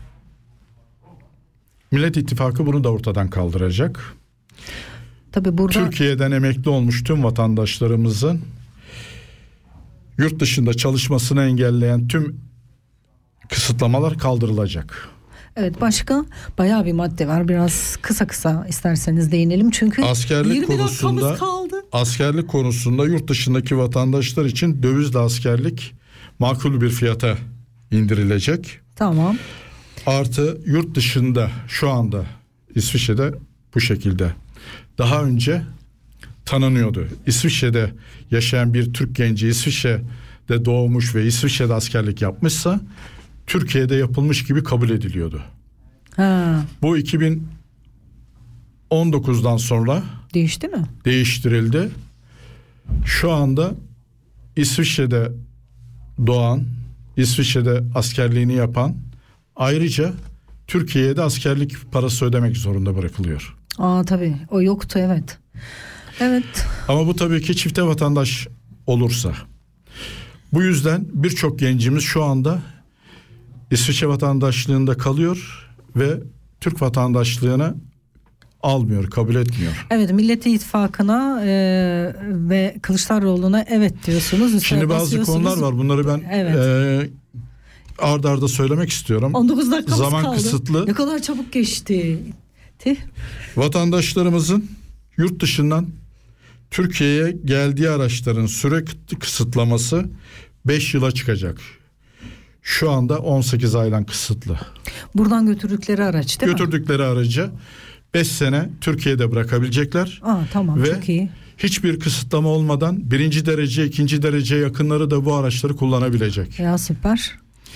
Millet İttifakı bunu da ortadan kaldıracak. Tabii burada Türkiye'den emekli olmuş tüm vatandaşlarımızın yurt dışında çalışmasını engelleyen tüm kısıtlamalar kaldırılacak. evet, başka bayağı bir madde var. Biraz kısa kısa isterseniz değinelim çünkü Askerlik yirmi konusunda dakikamız kaldı. askerlik konusunda yurt dışındaki vatandaşlar için dövizli askerlik makul bir fiyata indirilecek. Tamam. Artı yurt dışında şu anda İsviçre'de bu şekilde. Daha önce tanınıyordu. İsviçre'de yaşayan bir Türk genci İsviçre'de doğmuş ve İsviçre'de askerlik yapmışsa Türkiye'de yapılmış gibi kabul ediliyordu. Ha, Bu iki bin on dokuzdan sonra değişti mi? değiştirildi. Şu anda İsviçre'de doğan, İsviçre'de askerliğini yapan, ayrıca Türkiye'ye de askerlik parası ödemek zorunda bırakılıyor. Aa tabii, o yoktu, evet. Evet. Ama bu tabii ki çifte vatandaş olursa. Bu yüzden birçok gencimiz şu anda İsviçre vatandaşlığında kalıyor ve Türk vatandaşlığını almıyor, kabul etmiyor. Evet, Millet İttifakı'na e, ve Kılıçdaroğlu'na evet diyorsunuz. üstüne Şimdi bazı basıyorsunuz. konular var. Bunları ben Evet. e, ard arda söylemek istiyorum. on dokuz dakikamız Zaman kaldı. kısıtlı. Ne kadar çabuk geçti. Tih. Vatandaşlarımızın yurt dışından Türkiye'ye geldiği araçların süre kısıtlaması beş yıla çıkacak. Şu anda on sekiz aydan kısıtlı. Buradan götürdükleri araç değil mi? Götürdükleri aracı beş sene Türkiye'de bırakabilecekler. Aa, tamam, ve çok iyi. hiçbir kısıtlama olmadan birinci derece, ikinci derece yakınları da bu araçları kullanabilecek. Ya süper.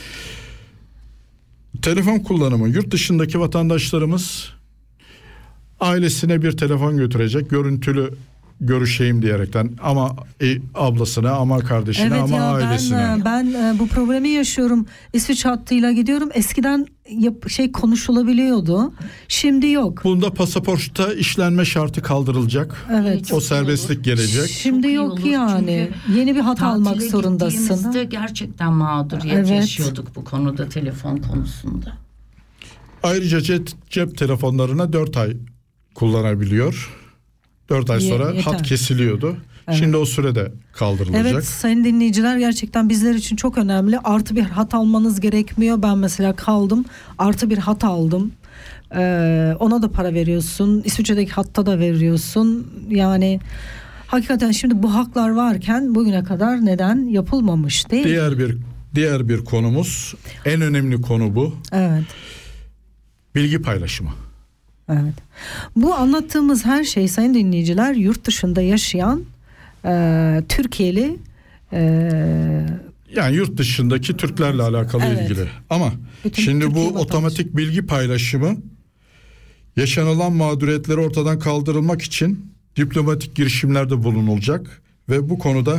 Telefon kullanımı, yurt dışındaki vatandaşlarımız ailesine bir telefon götürecek, görüntülü görüşeyim diyerekten, ama e, ablasına, ama kardeşine, Evet ama ya, ailesine. ben ben e, bu problemi yaşıyorum. İsviçre hattıyla gidiyorum. Eskiden yap, şey konuşulabiliyordu. Şimdi yok. Bunda pasaportta işlenme şartı kaldırılacak. Evet. O serbestlik gelecek. Şimdi Çok iyi yok olur. yani. Çünkü Yeni bir hat almak tatile zorundasın. gittiğimizde gerçekten mağduriyet Evet. yaşıyorduk bu konuda, telefon konusunda. Ayrıca cep, cep telefonlarına dört ay kullanabiliyor. dört ay Ye- sonra yeter. hat kesiliyordu. Evet. Şimdi o sürede kaldırılacak. Evet sayın dinleyiciler, gerçekten bizler için çok önemli. Artı bir hat almanız gerekmiyor. Ben mesela kaldım, artı bir hat aldım. Ee, ona da para veriyorsun. İsviçre'deki hatta da veriyorsun. Yani hakikaten şimdi bu haklar varken bugüne kadar neden yapılmamış değil mi? Diğer bir diğer bir konumuz, en önemli konu bu. Evet. Bilgi paylaşımı. Evet. Bu anlattığımız her şey sayın dinleyiciler yurt dışında yaşayan e, Türkiye'li e, Yani yurt dışındaki Türklerle alakalı Evet. ilgili. Ama Bütün şimdi Türkiye bu vatandaşı. otomatik bilgi paylaşımı yaşanılan mağduriyetleri ortadan kaldırılmak için diplomatik girişimlerde bulunulacak ve bu konuda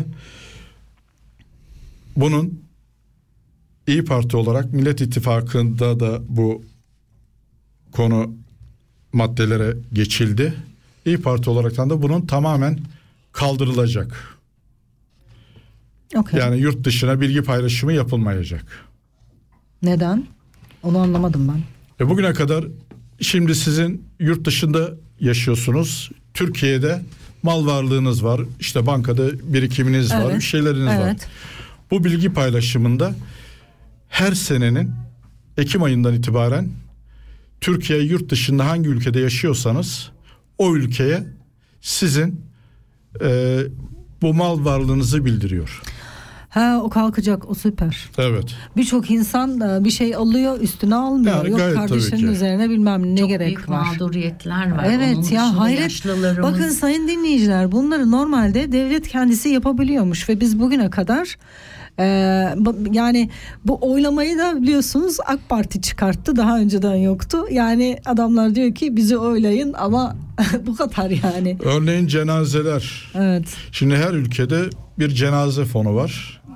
bunun İYİ Parti olarak Millet İttifakı'nda da bu konu maddelere geçildi. İYİ Parti olaraktan da bunun tamamen kaldırılacak. okay. Yani yurt dışına bilgi paylaşımı yapılmayacak. Neden? Onu anlamadım ben. E bugüne kadar, şimdi sizin yurt dışında yaşıyorsunuz. Türkiye'de mal varlığınız var. İşte bankada birikiminiz var. Evet. Bir şeyleriniz var. Evet. Bu bilgi paylaşımında her senenin Ekim ayından itibaren Türkiye yurt dışında hangi ülkede yaşıyorsanız o ülkeye sizin e, bu mal varlığınızı bildiriyor. Ha, o kalkacak, o süper. Evet. Birçok insan da bir şey alıyor, üstüne almıyor. Yani Yok gayet kardeşinin tabii ki. üzerine bilmem ne Çok gerek büyük var. mağduriyetler var. Evet Onun ya, dışında hayret. yaşlılarımız- Bakın sayın dinleyiciler, bunları normalde devlet kendisi yapabiliyormuş ve biz bugüne kadar e, bu- yani bu oylamayı da biliyorsunuz AK Parti çıkarttı, daha önceden yoktu. Yani adamlar diyor ki bizi oylayın ama bu kadar yani. Örneğin cenazeler. Evet. Şimdi her ülkede bir cenaze fonu var.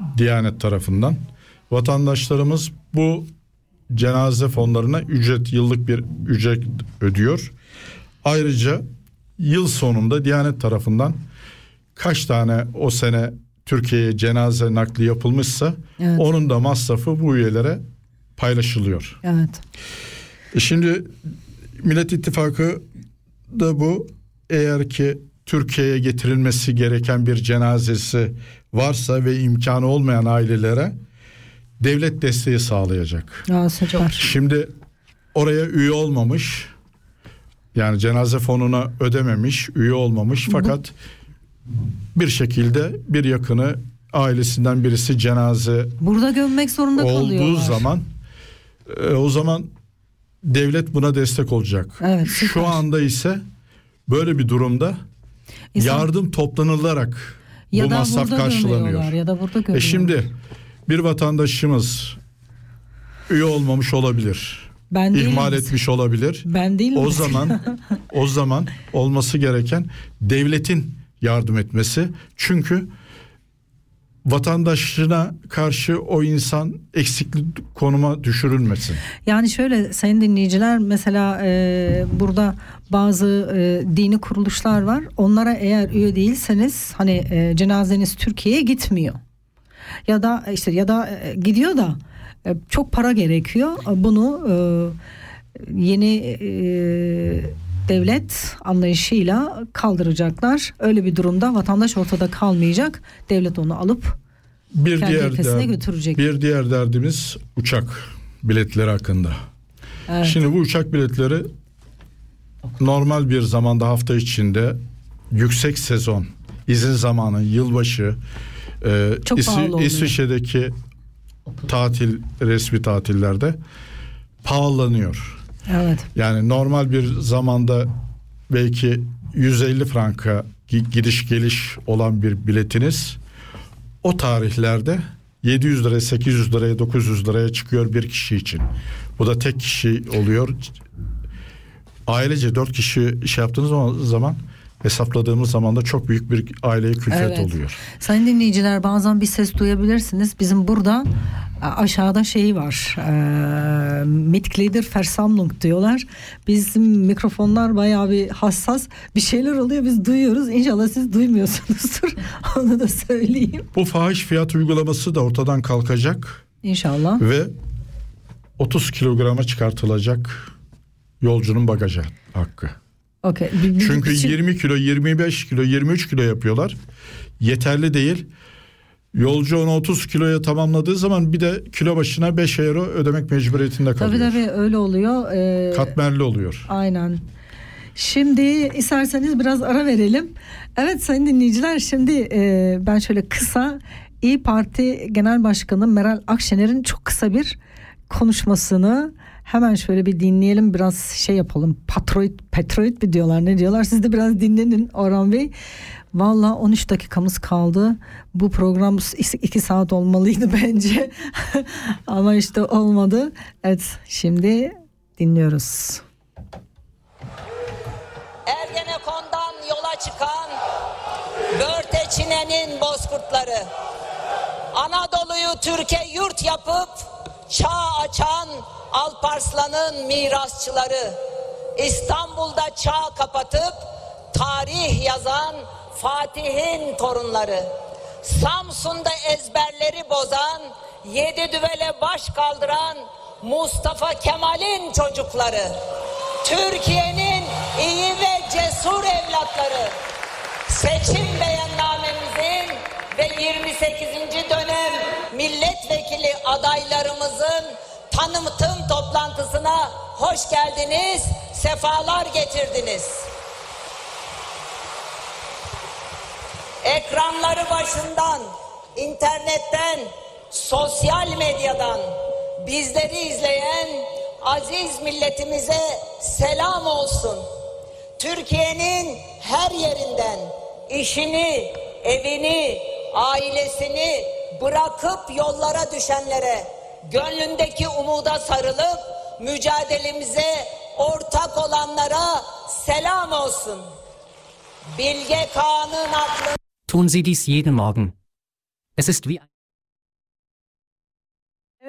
Diyanet tarafından. Vatandaşlarımız bu cenaze fonlarına ücret, yıllık bir ücret ödüyor. Ayrıca yıl sonunda Diyanet tarafından kaç tane o sene Türkiye'ye cenaze nakli yapılmışsa Evet. onun da masrafı bu üyelere paylaşılıyor. Evet. E şimdi Millet İttifakı da bu, eğer ki Türkiye'ye getirilmesi gereken bir cenazesi varsa ve imkanı olmayan ailelere devlet desteği sağlayacak. Aa, süper. Şimdi oraya üye olmamış, yani cenaze fonuna ödememiş, üye olmamış fakat bir şekilde bir yakını, ailesinden birisi cenaze Burada gömmek zorunda olduğu kalıyorlar. zaman e, o zaman devlet buna destek olacak. Evet, süper. Şu anda ise böyle bir durumda İnsan- yardım toplanılarak ya bu da masraf burada karşılanıyor. gömüyorlar, ya da burada gömüyorlar. E şimdi bir vatandaşımız üye olmamış olabilir. Ben değilim. İhmal etmiş olabilir. Ben değilim. O zaman o zaman olması gereken devletin yardım etmesi. Çünkü vatandaşına karşı o insan eksikli konuma düşürülmesin. Yani şöyle sayın dinleyiciler, mesela e, burada bazı e, dini kuruluşlar var. Onlara eğer üye değilseniz hani e, cenazeniz Türkiye'ye gitmiyor. Ya da işte ya da e, gidiyor da e, çok para gerekiyor. Bunu e, yeni e, devlet anlayışıyla kaldıracaklar. Öyle bir durumda vatandaş ortada kalmayacak. Devlet onu alıp Bir kendi diğer ülkesine der- götürecek. bir diğer derdimiz uçak biletleri hakkında. Evet. Şimdi bu uçak biletleri normal bir zamanda, hafta içinde, yüksek sezon, izin zamanı, yılbaşı, e, Çok İsvi- pahalı oluyor. İsviçre'deki tatil, resmi tatillerde pahalanıyor. Evet. Yani normal bir zamanda belki yüz elli franka gi- gidiş geliş olan bir biletiniz o tarihlerde yedi yüz liraya, sekiz yüz liraya, dokuz yüz liraya çıkıyor bir kişi için. Bu da tek kişi oluyor. Ailece dört kişi şey yaptığınız zaman, hesapladığımız zaman da çok büyük bir aileye külfet Evet. oluyor. Sayın dinleyiciler, bazen bir ses duyabilirsiniz. Bizim burada aşağıda şey var. E, Mitglieder Versammlung diyorlar. Bizim mikrofonlar bayağı bir hassas. Bir şeyler oluyor, biz duyuyoruz. İnşallah siz duymuyorsunuzdur. Onu da söyleyeyim. Bu fahiş fiyat uygulaması da ortadan kalkacak İnşallah. ve otuz kilograma çıkartılacak yolcunun bagaj hakkı. Okay. Bir- bir- Çünkü için- yirmi kilo, yirmi beş kilo, yirmi üç kilo yapıyorlar. Yeterli değil. Yolcu onu otuz kiloya tamamladığı zaman bir de kilo başına beş euro ödemek mecburiyetinde Tabii kalıyor. tabii öyle oluyor. Ee, Katmerli oluyor. Aynen. Şimdi isterseniz biraz ara verelim. Evet sayın dinleyiciler, şimdi e, ben şöyle kısa İYİ Parti Genel Başkanı Meral Akşener'in çok kısa bir konuşmasını hemen şöyle bir dinleyelim, biraz şey yapalım. Patroid, Patroid mi diyorlar, ne diyorlar? Siz de biraz dinlenin Orhan Bey. Valla on üç dakikamız kaldı. Bu program iki saat olmalıydı bence. Ama işte olmadı. Evet, şimdi dinliyoruz. Ergenekon'dan yola çıkan Börteçine'nin bozkurtları, Anadolu'yu Türkiye yurt yapıp çağ açan Alparslan'ın mirasçıları, İstanbul'da çağ kapatıp tarih yazan Fatih'in torunları, Samsun'da ezberleri bozan, yedi düvele baş kaldıran Mustafa Kemal'in çocukları, Türkiye'nin iyi ve cesur evlatları, seçim beyannamemizin ve yirmi sekizinci dönem milletvekili adaylarımızın tanıtım toplantısına hoş geldiniz, sefalar getirdiniz. Ekranları başından, internetten, sosyal medyadan bizleri izleyen aziz milletimize selam olsun. Türkiye'nin her yerinden işini, evini, ailesini bırakıp yollara düşenlere, gönlündeki umuda sarılıp mücadelemize ortak olanlara selam olsun. Bilge Kağan'ın aklı Tun Sie dies jeden Morgen. Es ist wie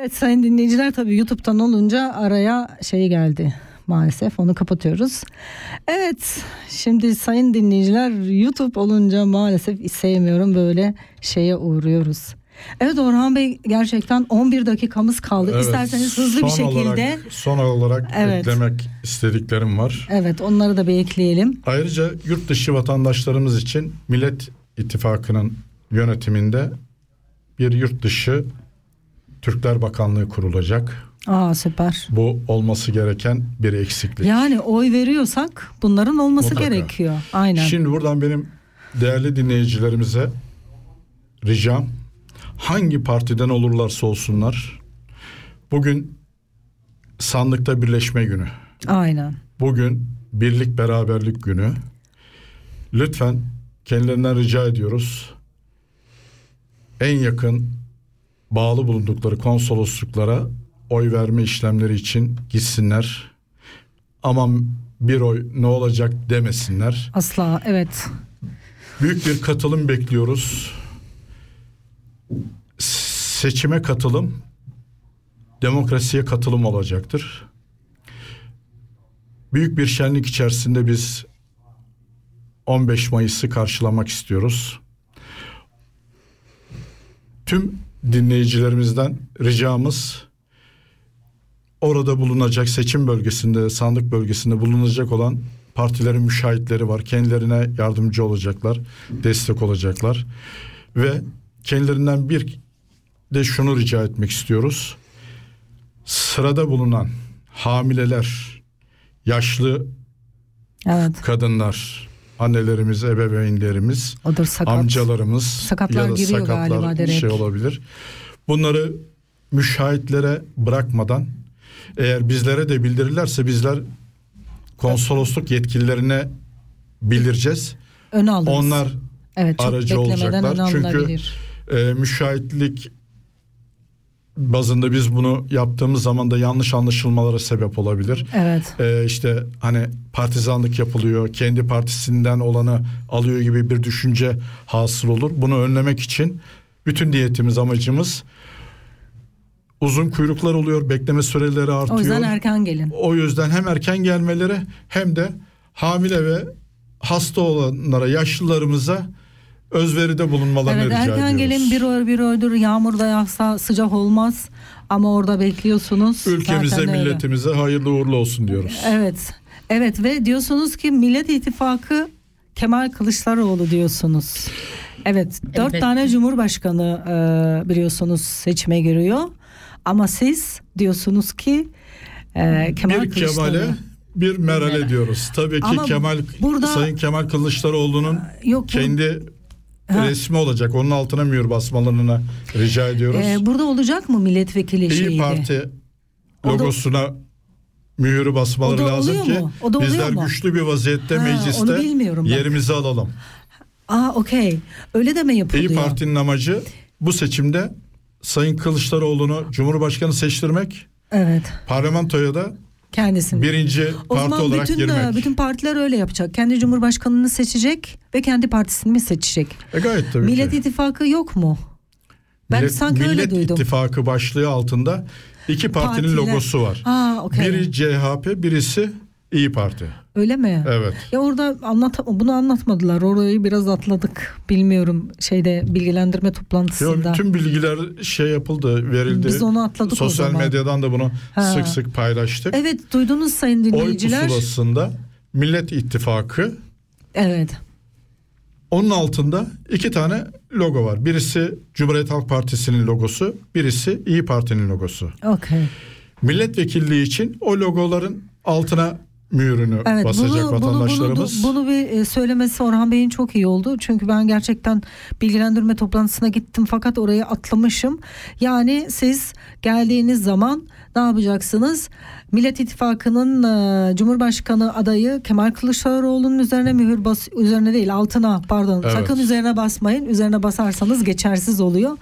Evet sayın dinleyiciler, tabii YouTube'dan olunca araya şey geldi. Maalesef onu kapatıyoruz. Evet, şimdi sayın dinleyiciler, YouTube olunca maalesef sevmiyorum, böyle şeye uğruyoruz. Evet Orhan Bey, gerçekten on bir dakikamız kaldı. Evet, İsterseniz hızlı bir son şekilde. Olarak, son olarak Evet. eklemek istediklerim var. Evet, onları da bir ekleyelim. Ayrıca yurt dışı vatandaşlarımız için Millet İttifakı'nın yönetiminde bir yurt dışı Türkler Bakanlığı kurulacak. Aa, süper. Bu olması gereken bir eksiklik. Yani oy veriyorsak bunların olması Mutlaka. gerekiyor. Aynen. Şimdi buradan benim değerli dinleyicilerimize ricam, hangi partiden olurlarsa olsunlar, bugün sandıkta birleşme günü. Aynen. Bugün birlik beraberlik günü. Lütfen kendilerinden rica ediyoruz. En yakın bağlı bulundukları konsolosluklara oy verme işlemleri için gitsinler. Aman bir oy ne olacak demesinler. Asla, evet. Büyük bir katılım bekliyoruz. Seçime katılım, demokrasiye katılım olacaktır. Büyük bir şenlik içerisinde biz on beş Mayıs'ı karşılamak istiyoruz. Tüm dinleyicilerimizden ricamız, orada bulunacak, seçim bölgesinde, sandık bölgesinde bulunacak olan partilerin müşahitleri var. Kendilerine yardımcı olacaklar, destek olacaklar. Ve kendilerinden bir de şunu rica etmek istiyoruz. Sırada bulunan hamileler, yaşlı Evet. kadınlar, annelerimiz, ebeveynlerimiz, Odur, sakat. amcalarımız Sakatlar ya da giriyor sakatlar galiba direkt. şey olabilir. Bunları müşahitlere bırakmadan, eğer bizlere de bildirirlerse bizler konsolosluk yetkililerine bildireceğiz. Öne alırız. Onlar evet, çok aracı beklemeden olacaklar. öne Çünkü alınabilir. e, müşahitlik bazında biz bunu yaptığımız zaman da yanlış anlaşılmalara sebep olabilir. Evet. Ee, işte hani partizanlık yapılıyor, kendi partisinden olanı alıyor gibi bir düşünce hasıl olur. Bunu önlemek için bütün niyetimiz, amacımız, uzun kuyruklar oluyor, bekleme süreleri artıyor. O yüzden erken gelin. O yüzden hem erken gelmeleri hem de hamile ve hasta olanlara, yaşlılarımıza özveride bulunmalarını Evet, rica ediyoruz. erken gelin, bir oy bir oydur, yağmurda yağsa sıcak olmaz ama orada bekliyorsunuz. Ülkemize, Zaten öyle. milletimize hayırlı uğurlu olsun diyoruz. Evet. Evet ve diyorsunuz ki Millet İttifakı Kemal Kılıçdaroğlu diyorsunuz. Evet, dört Elbette. tane Cumhurbaşkanı e, biliyorsunuz seçime giriyor. Ama siz diyorsunuz ki e, Kemal bir Kılıçdaroğlu. Kemal'e bir Meral'e Meral. diyoruz. Tabii ki Ama Kemal burada- Sayın Kemal Kılıçdaroğlu'nun Yok, bu- kendi Ha. resmi olacak. Onun altına mühür basmalarını rica ediyoruz. E, burada olacak mı milletvekili İyi şeyi? Parti O da- logosuna mühürü basmaları O da lazım oluyor ki mu? O da oluyor bizler mu? güçlü bir vaziyette Ha, onu mecliste bilmiyorum bak. yerimizi alalım. Aa, okey. Öyle de mi yapılıyor? İyi Parti'nin amacı bu seçimde Sayın Kılıçdaroğlu'nu Cumhurbaşkanı seçtirmek, Evet. parlamentoya da Kendisini. birinci O parti zaman olarak bütün, girmek. bütün partiler öyle yapacak. Kendi cumhurbaşkanını seçecek ve kendi partisini mi seçecek? E gayet tabii Millet ki. İttifakı yok mu? Ben Millet, sanki öyle Millet duydum. İttifakı başlığı altında iki partinin Partiler. logosu var. Ha, okey. Biri C H P, birisi İyi Parti. Öyle mi? Evet. Ya orada anlat bunu anlatmadılar. Orayı biraz atladık. Bilmiyorum, şeyde bilgilendirme Yo, toplantısında. bütün bilgiler şey yapıldı, verildi. Biz onu atladık o Sosyal zaman. medyadan da bunu Ha. sık sık paylaştık. Evet, duydunuz sayın Oy dinleyiciler. pusulasında Millet İttifakı, Evet. onun altında iki tane logo var. Birisi Cumhuriyet Halk Partisi'nin logosu, birisi İyi Parti'nin logosu. Okey. Milletvekilliği için o logoların altına mührünü Evet, basacak bunu, vatandaşlarımız. Bunu, bunu, bunu bir e, söylemesi Orhan Bey'in çok iyi oldu. Çünkü ben gerçekten bilgilendirme toplantısına gittim fakat orayı atlamışım. Yani siz geldiğiniz zaman ne yapacaksınız? Millet İttifakı'nın e, Cumhurbaşkanı adayı Kemal Kılıçdaroğlu'nun üzerine mühür bas üzerine değil altına pardon Evet. sakın üzerine basmayın. Üzerine basarsanız geçersiz oluyor.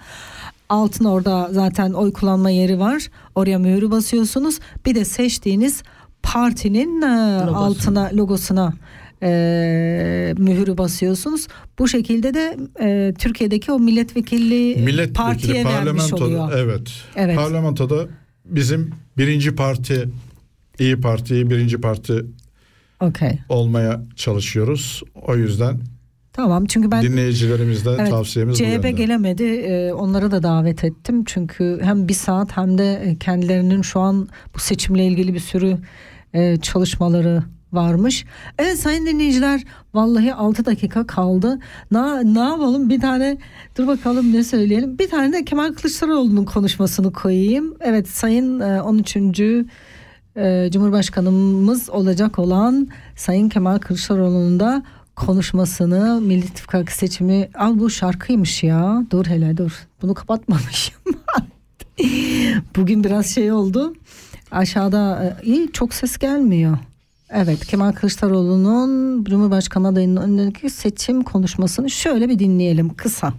Altın orada zaten oy kullanma yeri var. Oraya mühürü basıyorsunuz. Bir de seçtiğiniz partinin e, altına logosuna e, mühürü basıyorsunuz. Bu şekilde de e, Türkiye'deki o milletvekilliği Milletvekili, partiye vermiş oluyor. Evet. Evet. Parlamentoda bizim birinci parti, İyi Parti, birinci parti Okay. olmaya çalışıyoruz. O yüzden Tamam, çünkü ben dinleyicilerimizden evet, tavsiyemiz bu C H P yönde. gelemedi. Ee, onları da davet ettim. Çünkü hem bir saat hem de kendilerinin şu an bu seçimle ilgili bir sürü e, çalışmaları varmış. Evet sayın dinleyiciler, vallahi altı dakika kaldı. Na, ne yapalım, bir tane dur bakalım ne söyleyelim. Bir tane de Kemal Kılıçdaroğlu'nun konuşmasını koyayım. Evet, sayın e, on üçüncü E, Cumhurbaşkanımız olacak olan Sayın Kemal Kılıçdaroğlu'nun da konuşmasını, Milli İttifak seçimi, al bu şarkıymış ya, dur hele dur, bunu kapatmamışım. Bugün biraz şey oldu aşağıda, e, iyi, çok ses gelmiyor. Evet, Kemal Kılıçdaroğlu'nun Cumhurbaşkanı adayının önündeki seçim konuşmasını şöyle bir dinleyelim kısa.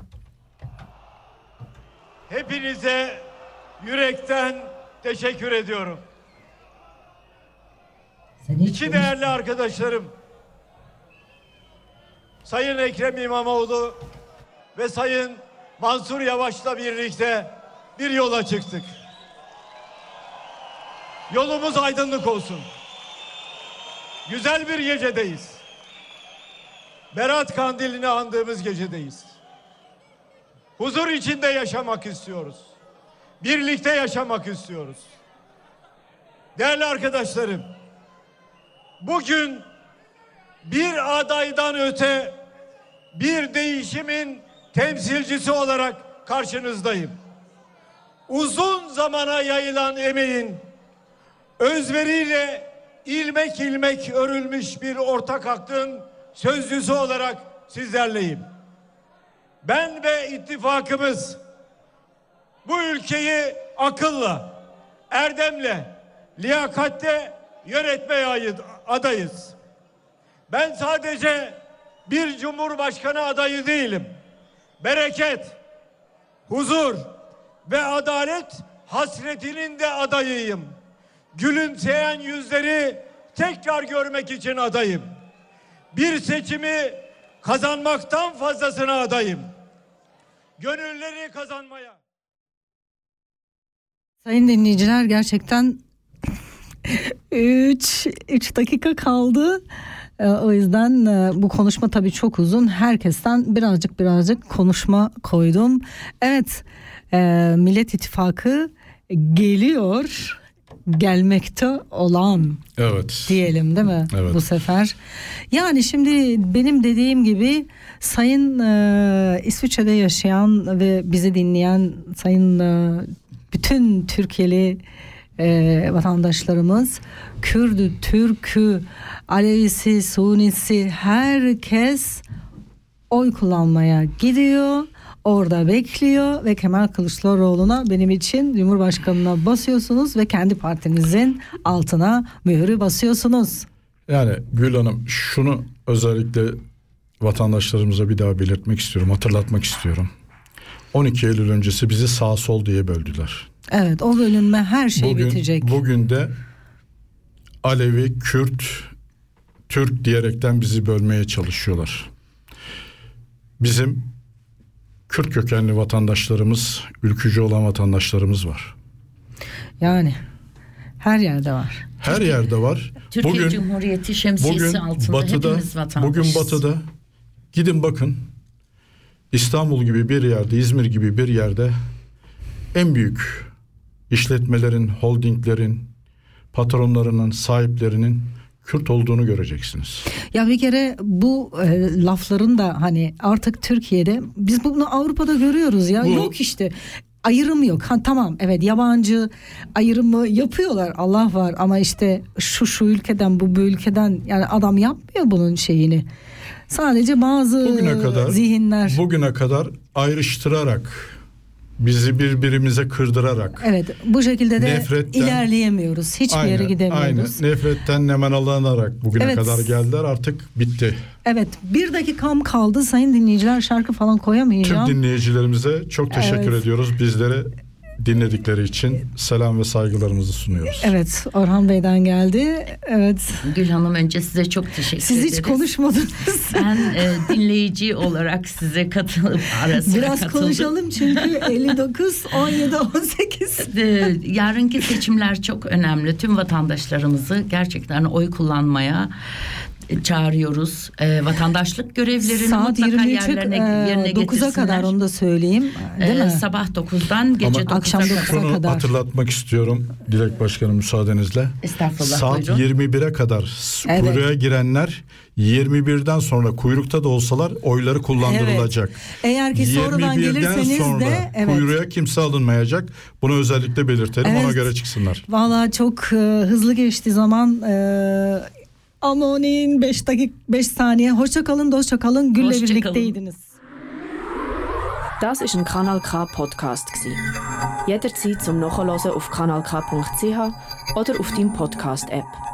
Hepinize yürekten teşekkür ediyorum. İki değerli arkadaşlarım, Sayın Ekrem İmamoğlu ve Sayın Mansur Yavaş'la birlikte bir yola çıktık. Yolumuz aydınlık olsun. Güzel bir gecedeyiz. Berat Kandili'ni andığımız gecedeyiz. Huzur içinde yaşamak istiyoruz. Birlikte yaşamak istiyoruz. Değerli arkadaşlarım, bugün bir adaydan öte bir değişimin temsilcisi olarak karşınızdayım. Uzun zamana yayılan emeğin özveriyle ilmek ilmek örülmüş bir ortak aklın sözcüsü olarak sizlerleyim. Ben ve ittifakımız bu ülkeyi akılla, erdemle, liyakatle yönetmeye adayız. Ben sadece bir cumhurbaşkanı adayı değilim. Bereket, huzur ve adalet hasretinin de adayıyım. Gülümseyen yüzleri tekrar görmek için adayım. Bir seçimi kazanmaktan fazlasına adayım. Gönülleri kazanmaya. Sayın dinleyiciler, gerçekten üç dakika kaldı. O yüzden bu konuşma tabii çok uzun. Herkesten birazcık birazcık konuşma koydum. Evet, Millet İttifakı geliyor, gelmekte olan, evet, diyelim değil mi, evet, bu sefer? Yani şimdi benim dediğim gibi sayın e, İsviçre'de yaşayan ve bizi dinleyen sayın e, bütün Türkiye'li e, vatandaşlarımız, Kürdü, Türk'ü, Alevisi, Sunnisi, herkes oy kullanmaya gidiyor. Orada bekliyor ve Kemal Kılıçdaroğlu'na, benim için Cumhurbaşkanı'na basıyorsunuz ve kendi partinizin altına mühürü basıyorsunuz. Yani Gül Hanım, şunu özellikle vatandaşlarımıza bir daha belirtmek istiyorum, hatırlatmak istiyorum. on iki Eylül öncesi bizi sağ sol diye böldüler. Evet, o bölünme her şey bugün, bitecek. Bugün de Alevi, Kürt, Türk diyerekten bizi bölmeye çalışıyorlar. Bizim Kürt kökenli vatandaşlarımız, ülkücü olan vatandaşlarımız var. Yani her yerde var. Her Türkiye, yerde var. Türkiye bugün, Cumhuriyeti şemsiyesi bugün altında batıda, hepimiz vatandaşız. Bugün batıda gidin bakın, İstanbul gibi bir yerde, İzmir gibi bir yerde en büyük işletmelerin, holdinglerin, patronlarının, sahiplerinin Kürt olduğunu göreceksiniz. Ya bir kere bu e, lafların da hani artık Türkiye'de, biz bunu Avrupa'da görüyoruz ya. Bu, yok işte ayrım yok. Ha, tamam, evet, yabancı ayrımı yapıyorlar, Allah var, ama işte şu şu ülkeden, bu bu ülkeden, yani adam yapmıyor bunun şeyini. Sadece bazı bugüne kadar, zihinler bugüne kadar ayrıştırarak, bizi birbirimize kırdırarak, evet, bu şekilde de nefretten, ilerleyemiyoruz. Hiçbir aynen, yere gidemiyoruz. Aynen. Nefretten nemanalanarak bugüne evet, kadar geldiler, artık bitti. Evet, bir dakikam kaldı sayın dinleyiciler, şarkı falan koyamayacağım. Tüm dinleyicilerimize çok teşekkür evet. ediyoruz. Bizlere dinledikleri için selam ve saygılarımızı sunuyoruz. Evet, Orhan Bey'den geldi. Evet. Gül Hanım, önce size çok teşekkür Siz ederiz. hiç konuşmadınız. Ben e, dinleyici olarak size katılıp ara sıra Biraz katıldım. konuşalım çünkü elli dokuz, on yedi, on sekiz. E, yarınki seçimler çok önemli. Tüm vatandaşlarımızı gerçekten oy kullanmaya çağırıyoruz. E, vatandaşlık görevlerini Saat mutlaka yirmi üç yerlerine, yerine dokuza getirsinler. kadar onu da söyleyeyim. Değil E, mi? sabah dokuzdan gece Ama dokuza akşam kadar. dokuza şunu kadar. hatırlatmak istiyorum Dilek Başkanım müsaadenizle. Estağfurullah, Saat buyurun. yirmi bire kadar Evet. kuyruğa girenler yirmi birden sonra kuyrukta da olsalar oyları kullandırılacak. Evet. Eğer ki sonradan yirmi birden gelirseniz sonra de evet. kuyruğa kimse alınmayacak. Bunu özellikle belirtelim, Evet. ona göre çıksınlar. Vallahi çok e, hızlı geçti zaman. E, Amonin beş dakika beş saniye. Hoşça kalın, dostça kalın. Gül'le Hoşça birlikteydiniz. Das ist ein Kanal K Podcast gsi. Jederzeit zum Nachhören auf kanal k punkt c h oder auf deinem Podcast App.